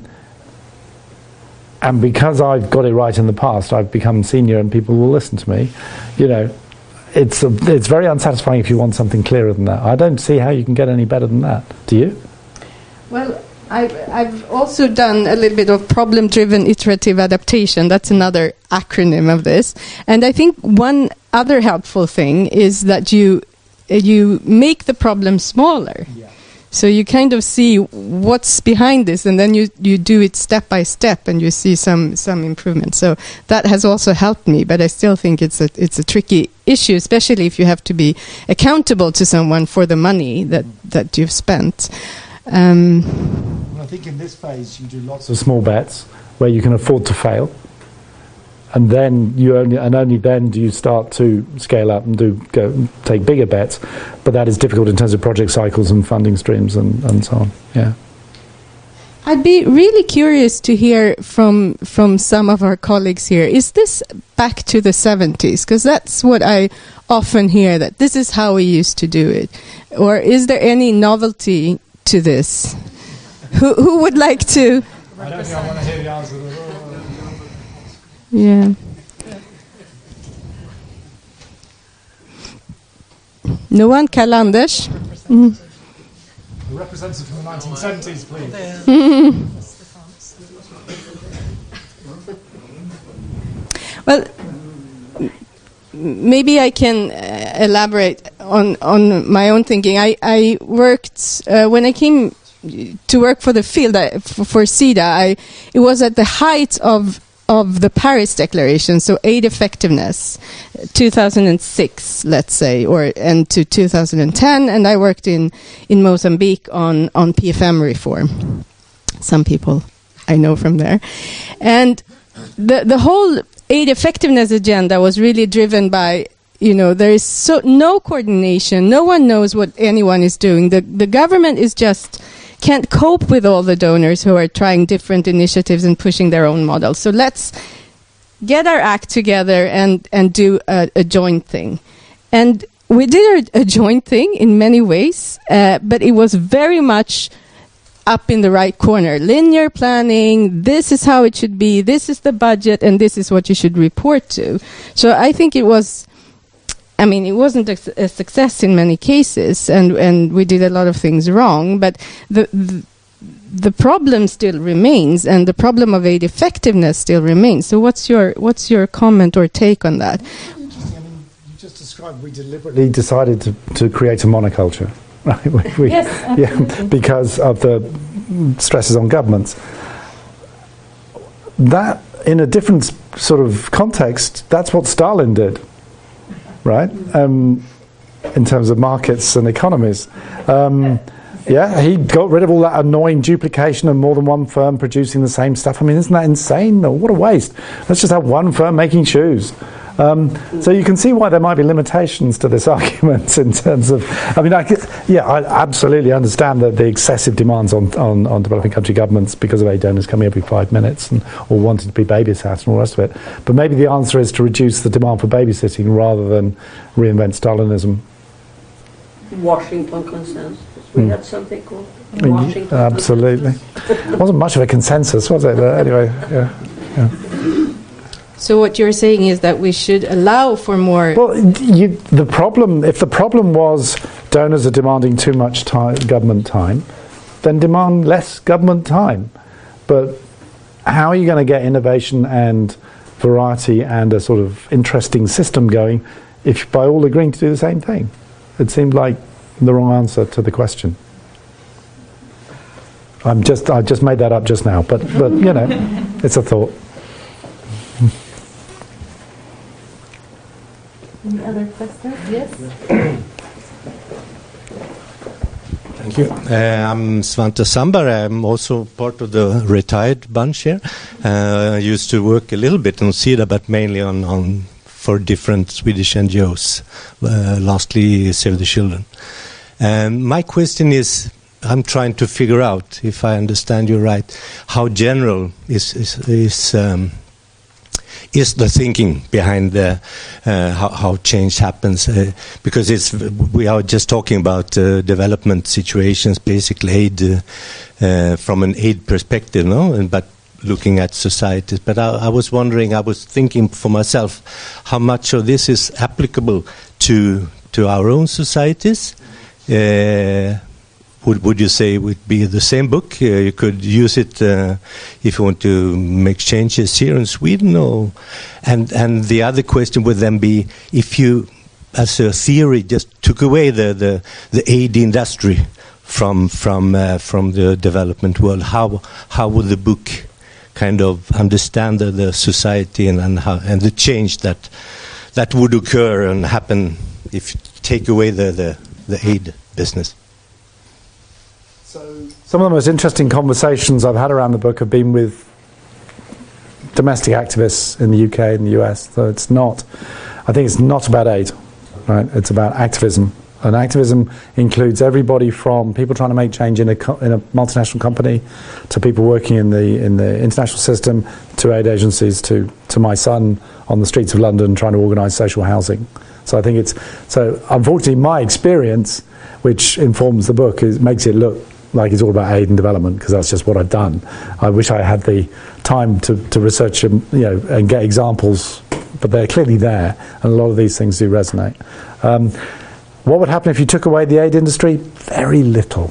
and because I've got it right in the past, I've become senior and people will listen to me. You know, it's, a, it's very unsatisfying if you want something clearer than that. I don't see how you can get any better than that. Do you? Well, I've, I've also done a little bit of problem-driven iterative adaptation. That's another acronym of this. And I think one other helpful thing is that you uh, you make the problem smaller. Yeah. So you kind of see what's behind this, and then you, you do it step by step, and you see some, some improvement. So that has also helped me, but I still think it's a it's a tricky issue, especially if you have to be accountable to someone for the money that, that you've spent. Um, I think in this phase you do lots of small bets where you can afford to fail, and then you only and only then do you start to scale up and do go take bigger bets. But that is difficult in terms of project cycles and funding streams and, and so on. Yeah. I'd be really curious to hear from from some of our colleagues here. Is this back to the seventies? Because that's what I often hear, that this is how we used to do it. Or is there any novelty to this? Who who would like to? I don't think I want to hear the answer. Yeah. No one? Karl Anders? Mm. A representative from the nineteen seventies, please. Well, maybe I can uh, elaborate on, on my own thinking. I, I worked, uh, when I came to work for the field, I, for, for SIDA, I, it was at the height of of the Paris Declaration, so aid effectiveness, two thousand six, let's say, or and to two thousand ten, and I worked in, in Mozambique on, on P F M reform. Some people I know from there. And the the whole aid effectiveness agenda was really driven by, you know, there is so no coordination, no one knows what anyone is doing. The the government is just can't cope with all the donors who are trying different initiatives and pushing their own models. So let's get our act together and, and do a, a joint thing. And we did a, a joint thing in many ways, uh, but it was very much up in the right corner. Linear planning, this is how it should be, this is the budget, and this is what you should report to. So I think it was, I mean, it wasn't a, a success in many cases, and, and we did a lot of things wrong, but the, the the problem still remains, and the problem of aid effectiveness still remains. So what's your what's your comment or take on that? I mean, you just described we deliberately decided to, to create a monoculture. Right? We, Yes, yeah, because of the stresses on governments. That, in a different sort of context, that's what Stalin did, right? Um, in terms of markets and economies. Um, yeah, he got rid of all that annoying duplication of more than one firm producing the same stuff. I mean, isn't that insane? What a waste. Let's just have one firm making shoes. Um, so you can see why there might be limitations to this argument in terms of, I mean, I, yeah, I absolutely understand that the excessive demands on, on, on developing country governments because of aid donors coming every five minutes and or wanting to be babysat and all the rest of it. But maybe the answer is to reduce the demand for babysitting rather than reinvent Stalinism. Washington consensus. We Mm. had something called Y- Washington Absolutely. It wasn't much of a consensus, was it? But anyway, yeah. yeah. So what you're saying is that we should allow for more... Well, you, the problem, if the problem was donors are demanding too much time, government time, then demand less government time. But how are you going to get innovation and variety and a sort of interesting system going if by all agreeing to do the same thing? It seemed like the wrong answer to the question. I'm just, I just made that up just now, but, but you know, it's a thought. Any other questions? Yes? Thank you. Uh, I'm Svante Sambar. I'm also part of the retired bunch here. Uh, I used to work a little bit on SIDA, but mainly on, on for different Swedish N G Os, uh, lastly Save the Children. Um, my question is, I'm trying to figure out, if I understand you right, how general is is is, um, is the thinking behind the, uh, how, how change happens? Uh, because it's we are just talking about uh, development situations, basic aid uh, uh, from an aid perspective, no, and but. Looking at societies, but I, I was wondering, I was thinking for myself, how much of this is applicable to to our own societies? Uh, would would you say it would be the same book? Uh, you could use it uh, if you want to make changes here in Sweden, or and and the other question would then be, if you, as a theory, just took away the the, the aid industry from from uh, from the development world, how how would the book kind of understand the, the society and and, how, and the change that that would occur and happen if you take away the, the, the aid business? So some of the most interesting conversations I've had around the book have been with domestic activists in the U K and the U S. So it's not, I think it's not about aid, right? It's about activism. And activism includes everybody from people trying to make change in a co- in a multinational company, to people working in the in the international system, to aid agencies, to to my son on the streets of London trying to organise social housing. So I think it's so. Unfortunately, my experience, which informs the book, is makes it look like it's all about aid and development, because that's just what I've done. I wish I had the time to to research and, you know, and get examples, but they're clearly there, and a lot of these things do resonate. Um, What would happen if you took away the aid industry? Very little,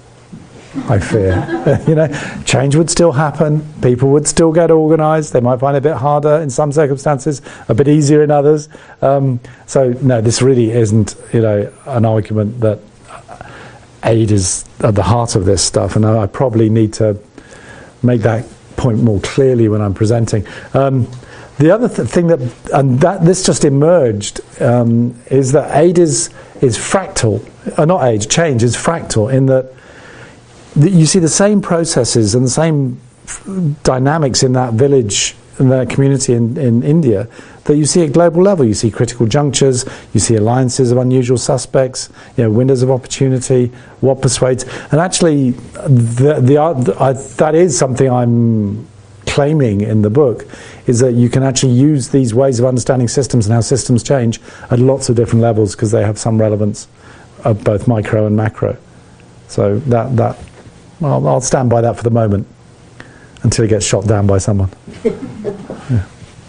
I fear. You know, change would still happen. People would still get organised. They might find it a bit harder in some circumstances, a bit easier in others. Um, so, no, this really isn't, you know, an argument that aid is at the heart of this stuff. And I probably need to make that point more clearly when I'm presenting. Um, The other th- thing that, and that this just emerged, um, is that aid is is fractal, uh, not aid, change is fractal, in that th- you see the same processes and the same f- dynamics in that village the community in, in India that you see at global level. You see critical junctures, you see alliances of unusual suspects, you know, windows of opportunity, what persuades. And actually, the, the, I, that is something I'm claiming in the book, is that you can actually use these ways of understanding systems and how systems change at lots of different levels because they have some relevance of both micro and macro. So that, that well, I'll stand by that for the moment until it gets shot down by someone. Yeah.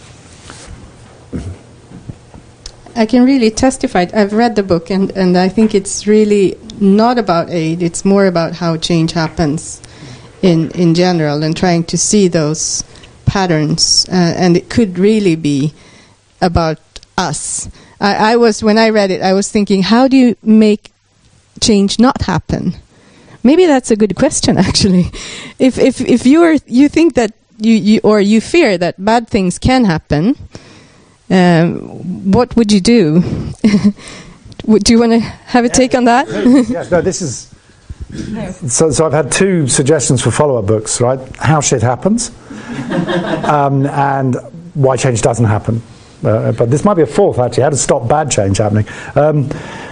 I can really testify. I've read the book, and, and I think it's really not about aid. It's more about how change happens in, in general and trying to see those patterns. Uh, and it could really be about us. I, I was, when I read it, I was thinking, how do you make change not happen? Maybe that's a good question, actually. If if if you are you think that you, you or you fear that bad things can happen, um, what would you do? Would you want to have a yeah, take on that? Yes, no, this is. So, so I've had two suggestions for follow-up books, right? How shit happens, um, and why change doesn't happen. Uh, but this might be a fourth, actually. How to stop bad change happening. Um,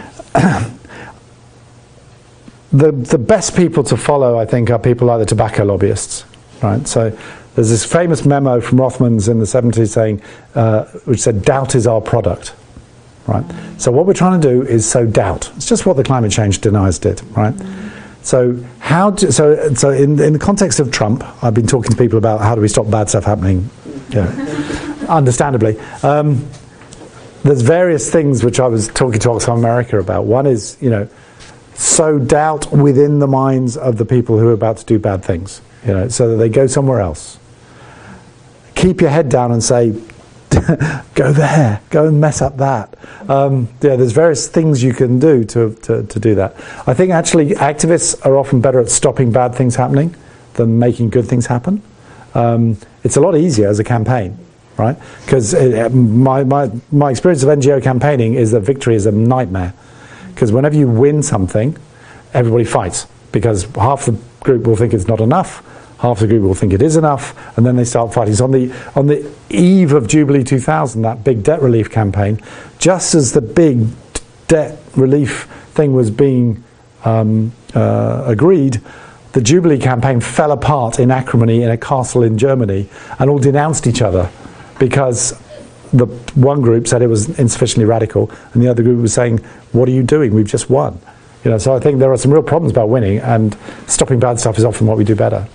The the best people to follow, I think, are people like the tobacco lobbyists, right? So there's this famous memo from Rothmans in the seventies saying, uh, which said, doubt is our product, right? So what we're trying to do is sow doubt. It's just what the climate change deniers did, right? So how do, so so in in the context of Trump, I've been talking to people about how do we stop bad stuff happening, you know, understandably. Um, there's various things which I was talking to Oxfam America about. One is, you know, sow doubt within the minds of the people who are about to do bad things, you know, so that they go somewhere else. Keep your head down and say, go there, go and mess up that. Um, yeah, there's various things you can do to, to, to do that. I think actually activists are often better at stopping bad things happening than making good things happen. Um, it's a lot easier as a campaign, right? Because my, my, my experience of N G O campaigning is that victory is a nightmare. Because whenever you win something, everybody fights. Because half the group will think it's not enough, half the group will think it is enough, and then they start fighting. So on the on the eve of Jubilee two thousand, that big debt relief campaign, just as the big debt relief thing was being um, uh, agreed, the Jubilee campaign fell apart in acrimony in a castle in Germany, and all denounced each other because the one group said it was insufficiently radical, and the other group was saying, what are you doing? We've just won. You know, so I think there are some real problems about winning, and stopping bad stuff is often what we do better.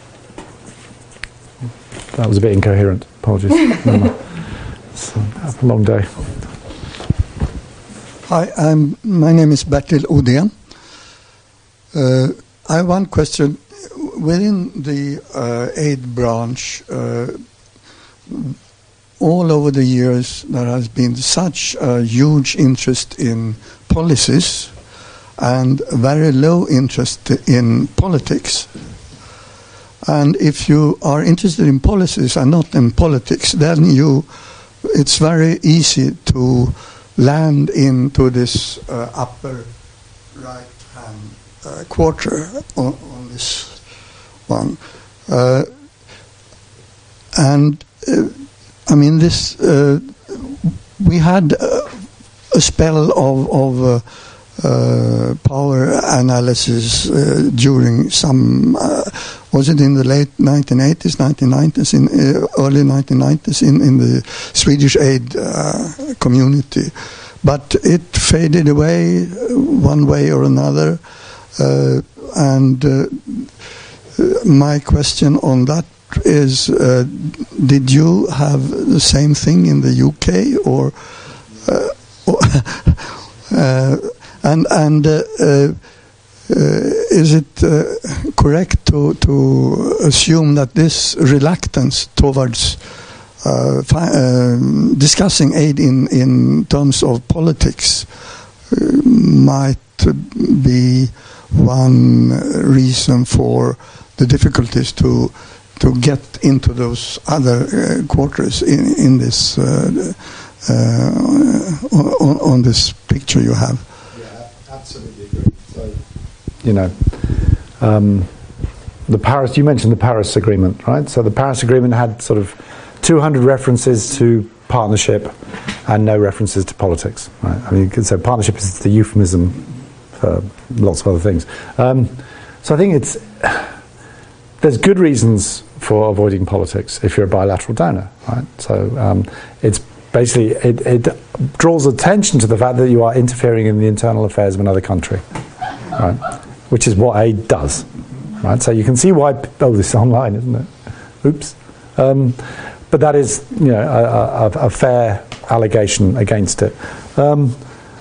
That was a bit incoherent. Apologies. So, have a long day. Hi, I'm, my name is Bertil Odén. Uh, I have one question. Within the uh, aid branch, uh, all over the years, there has been such a huge interest in policies and very low interest in politics. And if you are interested in policies and not in politics, then you, it's very easy to land into this uh, upper right-hand uh, quarter on, on this one. Uh, and uh, I mean, this. Uh, we had uh, a spell of, of uh, uh, power analysis uh, during some. Uh, was it in the late nineteen eighties, nineteen nineties, in uh, early nineteen nineties, in in the Swedish aid uh, community, but it faded away one way or another. Uh, and uh, my question on that is, uh, did you have the same thing in the U K, or, uh, or uh, and and uh, uh, is it uh, correct to to assume that this reluctance towards uh, fi- uh, discussing aid in in terms of politics uh, might be one reason for the difficulties to to get into those other uh, quarters in in this uh, uh, on, on this picture you have? Yeah, absolutely agree. So, you know, um, the Paris. You mentioned the Paris Agreement, right? So the Paris Agreement had sort of two hundred references to partnership and no references to politics. Right? I mean, you could say partnership is the euphemism for lots of other things. Um, so I think it's there's good reasons for avoiding politics if you're a bilateral donor. Right? So um, it's basically it, it draws attention to the fact that you are interfering in the internal affairs of another country, right? Which is what aid does. Right, so you can see why. Oh, this is online, isn't it? Oops. Um, but that is, you know, a, a, a fair allegation against it. Um,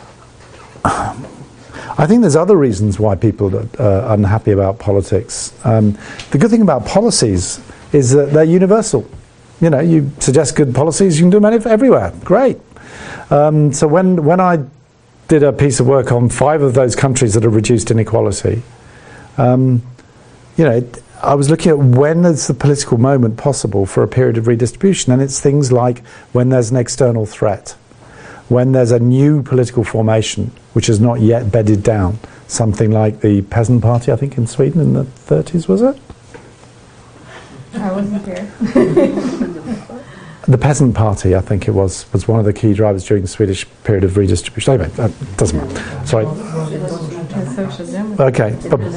I think there's other reasons why people are unhappy about politics. Um, the good thing about policies is that they're universal. You know, you suggest good policies, you can do them everywhere. Great. Um, so when when I did a piece of work on five of those countries that have reduced inequality. Um, You know, it, I was looking at when is the political moment possible for a period of redistribution, and it's things like when there's an external threat, when there's a new political formation which is not yet bedded down, something like the Peasant Party, I think, in Sweden in the thirties, was it? I wasn't there. The Peasant Party, I think it was, was one of the key drivers during the Swedish period of redistribution. Anyway, that doesn't matter. Sorry. Okay.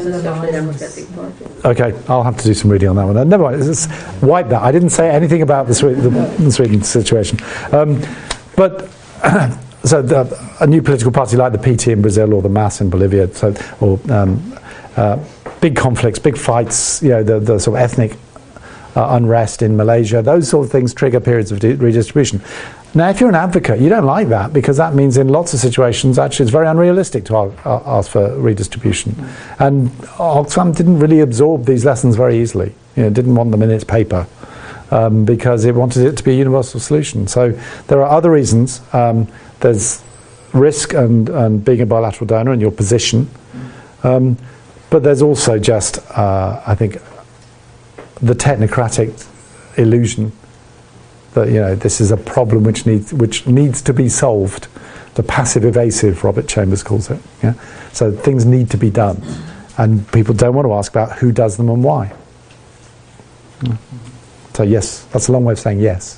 Okay, I'll have to do some reading on that one. Never mind. Just wipe that. I didn't say anything about the, Sweden, the Sweden situation. Um, but so the, a new political party like the P T in Brazil or the M A S in Bolivia, so or um, uh, big conflicts, big fights. You know, the, the sort of ethnic uh, unrest in Malaysia. Those sort of things trigger periods of de- redistribution. Now, if you're an advocate, you don't like that because that means in lots of situations, actually, it's very unrealistic to ask for redistribution. And Oxfam didn't really absorb these lessons very easily. You know, didn't want them in its paper um, because it wanted it to be a universal solution. So there are other reasons. Um, there's risk and, and being a bilateral donor and your position. Um, but there's also just, uh, I think, the technocratic illusion that, you know, this is a problem which needs which needs to be solved. The passive evasive, Robert Chambers calls it. Yeah, so things need to be done, and people don't want to ask about who does them and why. Yeah. So yes, that's a long way of saying yes.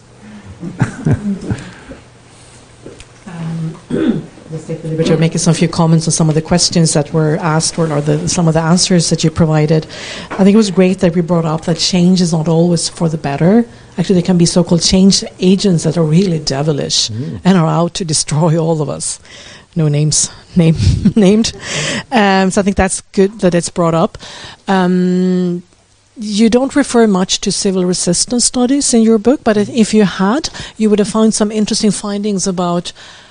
Let's take the liberty of making some few comments on some of the questions that were asked or, or the, some of the answers that you provided. I think it was great that we brought up that change is not always for the better. Actually, there can be so-called change agents that are really devilish mm. and are out to destroy all of us. No names name, named. Um, so I think that's good that it's brought up. Um, you don't refer much to civil resistance studies in your book, but if you had, you would have found some interesting findings about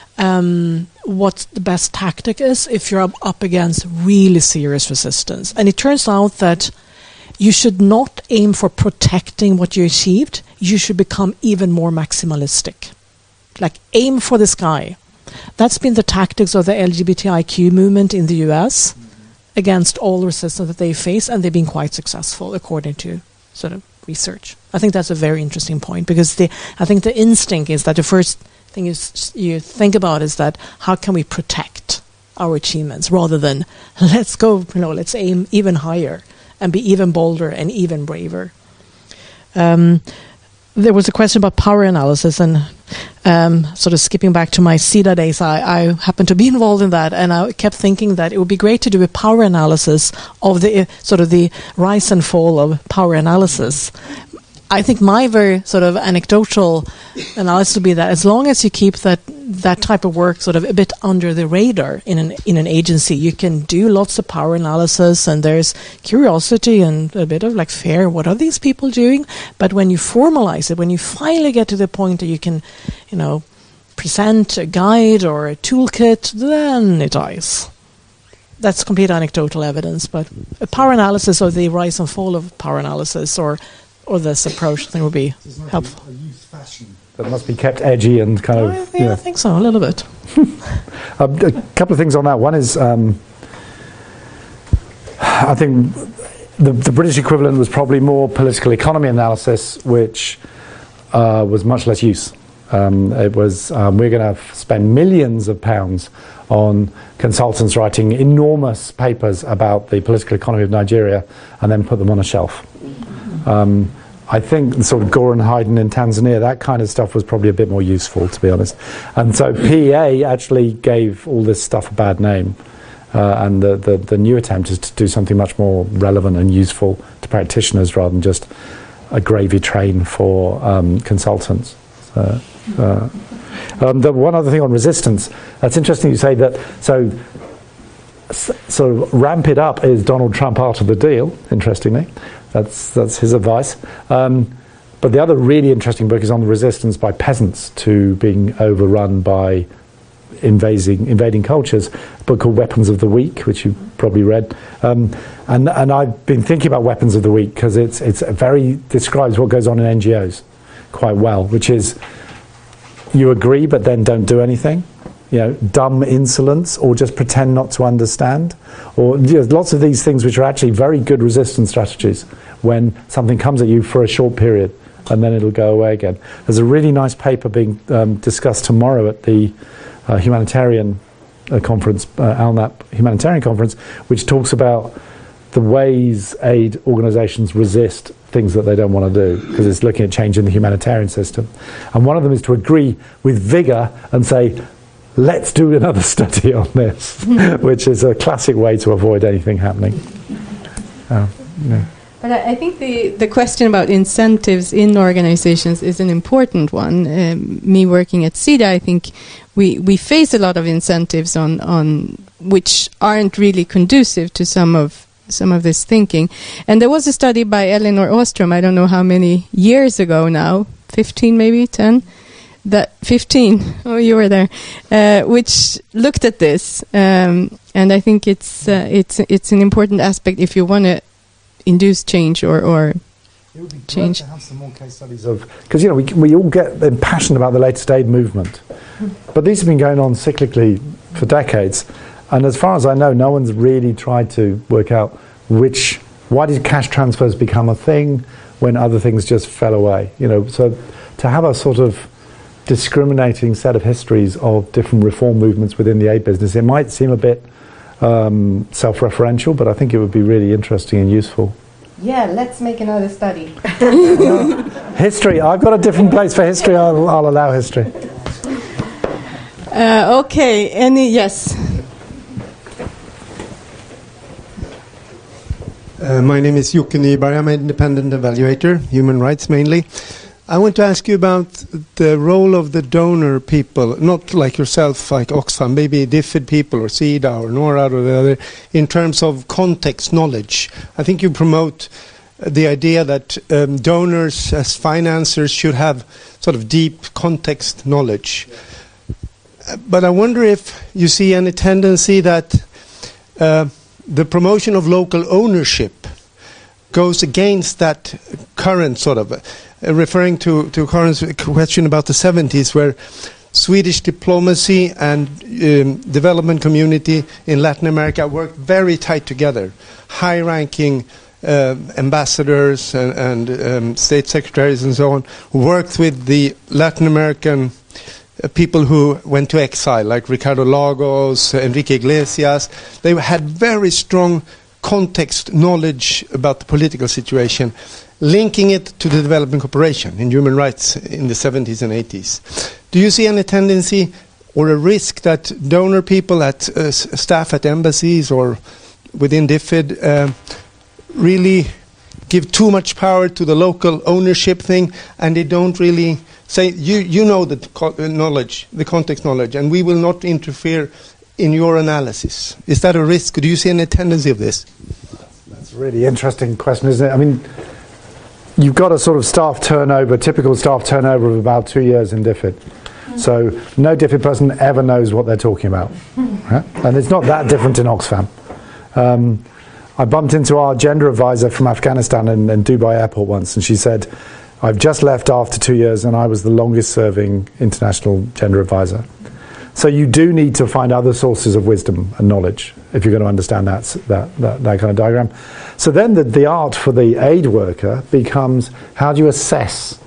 um, what the best tactic is if you're up against really serious resistance. And it turns out that you should not aim for protecting what you achieved. You should become even more maximalistic. Like, aim for the sky. That's been the tactics of the L G B T I Q movement in the U S mm-hmm. against all the resistance that they face, and they've been quite successful, according to sort of research. I think that's a very interesting point, because the, I think the instinct is that the first thing is you think about is that how can we protect our achievements, rather than let's go, you know, let's aim even higher and be even bolder and even braver. Um, there was a question about power analysis, and um, sort of skipping back to my C I D A days, I, I happened to be involved in that, and I kept thinking that it would be great to do a power analysis of the uh, sort of the rise and fall of power analysis. I think my very sort of anecdotal analysis would be that as long as you keep that that type of work sort of a bit under the radar in an in an agency, you can do lots of power analysis, and there's curiosity and a bit of like fear. What are these people doing? But when you formalize it, when you finally get to the point that you can, you know, present a guide or a toolkit, then it dies. That's complete anecdotal evidence, but a power analysis of the rise and fall of power analysis or or this approach, I think, would be helpful. A youth fashion that must be kept edgy and kind of. I, yeah, you know. I think so, a little bit. um, a couple of things on that. One is, um, I think the, the British equivalent was probably more political economy analysis, which uh, was much less use. Um, it was um, we're going to f- spend millions of pounds on consultants writing enormous papers about the political economy of Nigeria and then put them on a shelf. Um, I think the sort of Goran Haydn in Tanzania, that kind of stuff was probably a bit more useful, to be honest. And so P E A actually gave all this stuff a bad name. Uh, and the, the, the new attempt is to do something much more relevant and useful to practitioners rather than just a gravy train for um, consultants. So, uh, um, the one other thing on resistance, that's interesting you say that, so sort of ramp it up is Donald Trump out of the deal, interestingly. That's that's his advice. Um, but the other really interesting book is on the resistance by peasants to being overrun by invading invading cultures. A book called Weapons of the Weak, which you probably read. Um, and and I've been thinking about Weapons of the Weak because it's it's a very describes what goes on in N G Os quite well, which is you agree but then don't do anything. You know, dumb insolence, or just pretend not to understand, or you know, lots of these things which are actually very good resistance strategies when something comes at you for a short period and then it'll go away again. There's a really nice paper being um, discussed tomorrow at the uh, humanitarian uh, conference, uh, ALNAP humanitarian conference, which talks about the ways aid organisations resist things that they don't want to do, because it's looking at changing the humanitarian system. And one of them is to agree with vigour and say, let's do another study on this, which is a classic way to avoid anything happening. Uh, yeah. But I, I think the, the question about incentives in organizations is an important one. Um, me working at SIDA, I think we, we face a lot of incentives on, on which aren't really conducive to some of some of this thinking. And there was a study by Elinor Ostrom, I don't know how many years ago now, fifteen maybe, ten? That fifteen, oh, you were there, uh, which looked at this, um, and I think it's uh, it's it's an important aspect if you want to induce change or or it would be change. Great to have some more case studies of, because you know we we all get passionate about the latest aid movement, but these have been going on cyclically for decades, and as far as I know, no one's really tried to work out which why did cash transfers become a thing when other things just fell away. You know, so to have a sort of discriminating set of histories of different reform movements within the aid business, it might seem a bit um, self-referential, but I think it would be really interesting and useful. Yeah, let's make another study. History, I've got a different place for history, I'll, I'll allow history. Uh, okay, any, yes. Uh, my name is Jocke Nyberg, I'm an independent evaluator, human rights mainly. I want to ask you about the role of the donor people, not like yourself, like Oxfam, maybe DFID people or SIDA or NORAD or the other, in terms of context knowledge. I think you promote the idea that um, donors as financiers should have sort of deep context knowledge. Uh, but I wonder if you see any tendency that uh, the promotion of local ownership goes against that current sort of, uh, referring to, to Karin's question about the seventies, where Swedish diplomacy and um, development community in Latin America worked very tight together. High-ranking uh, ambassadors and, and um, state secretaries and so on worked with the Latin American uh, people who went to exile, like Ricardo Lagos, uh, Enrique Iglesias. They had very strong context knowledge about the political situation, linking it to the development cooperation in human rights in the seventies and eighties. Do you see any tendency or a risk that donor people, at uh, staff at embassies or within DFID uh, really give too much power to the local ownership thing, and they don't really say, you, you know the co- knowledge, the context knowledge, and we will not interfere in your analysis? Is that a risk? Do you see any tendency of this? That's a really interesting question, isn't it? I mean, you've got a sort of staff turnover, typical staff turnover of about two years in DFID. Mm. So no DFID person ever knows what they're talking about. Right? And it's not that different in Oxfam. Um, I bumped into our gender advisor from Afghanistan in, in Dubai airport once, and she said, I've just left after two years and I was the longest serving international gender advisor. So you do need to find other sources of wisdom and knowledge if you're going to understand that that, that, that kind of diagram. So then the, the art for the aid worker becomes, how do you assess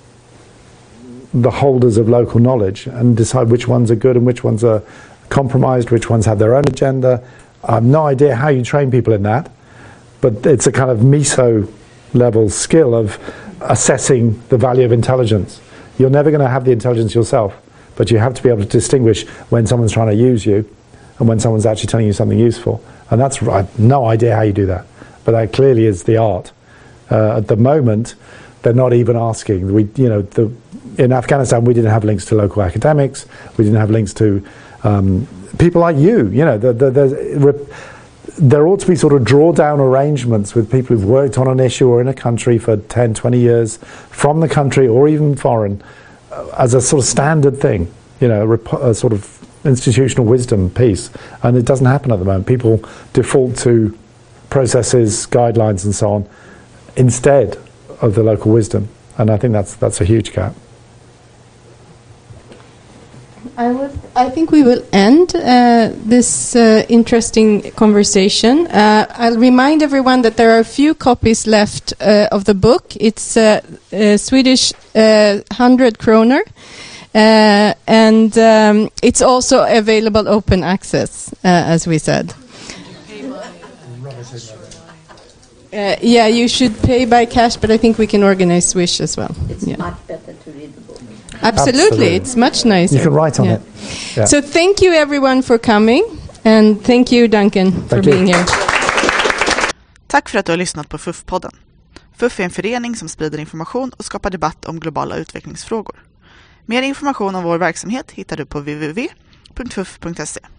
the holders of local knowledge and decide which ones are good and which ones are compromised, which ones have their own agenda. I have no idea how you train people in that, but it's a kind of meso level skill of assessing the value of intelligence. You're never going to have the intelligence yourself, but you have to be able to distinguish when someone's trying to use you and when someone's actually telling you something useful. And that's, I have no idea how you do that, but that clearly is the art. Uh, at the moment, they're not even asking. We, you know, the, in Afghanistan, we didn't have links to local academics. We didn't have links to um, people like you. You know, the, the, the, there ought to be sort of drawdown arrangements with people who've worked on an issue or in a country for ten, twenty years, from the country or even foreign, uh, as a sort of standard thing, you know, a, a sort of institutional wisdom piece. And it doesn't happen at the moment. People default to processes, guidelines and so on, instead of the local wisdom. And I think that's that's a huge gap. I would. I think we will end uh, this uh, interesting conversation. Uh, I'll remind everyone that there are a few copies left uh, of the book. It's uh, uh, Swedish uh, hundred kroner, uh, and um, it's also available open access, uh, as we said. Uh, yeah, you should pay by cash, but I think we can organize Swish as well. It's yeah. much better to read the book. Absolutely, Absolutely. It's much nicer. You can write on yeah. it. Yeah. So thank you everyone for coming, and thank you Duncan for Thank you. being here. Tack för att du har lyssnat på F U F-podden. F U F är en förening som sprider information och skapar debatt om globala utvecklingsfrågor. Mer information om vår verksamhet hittar du på w w w punkt f u f punkt se.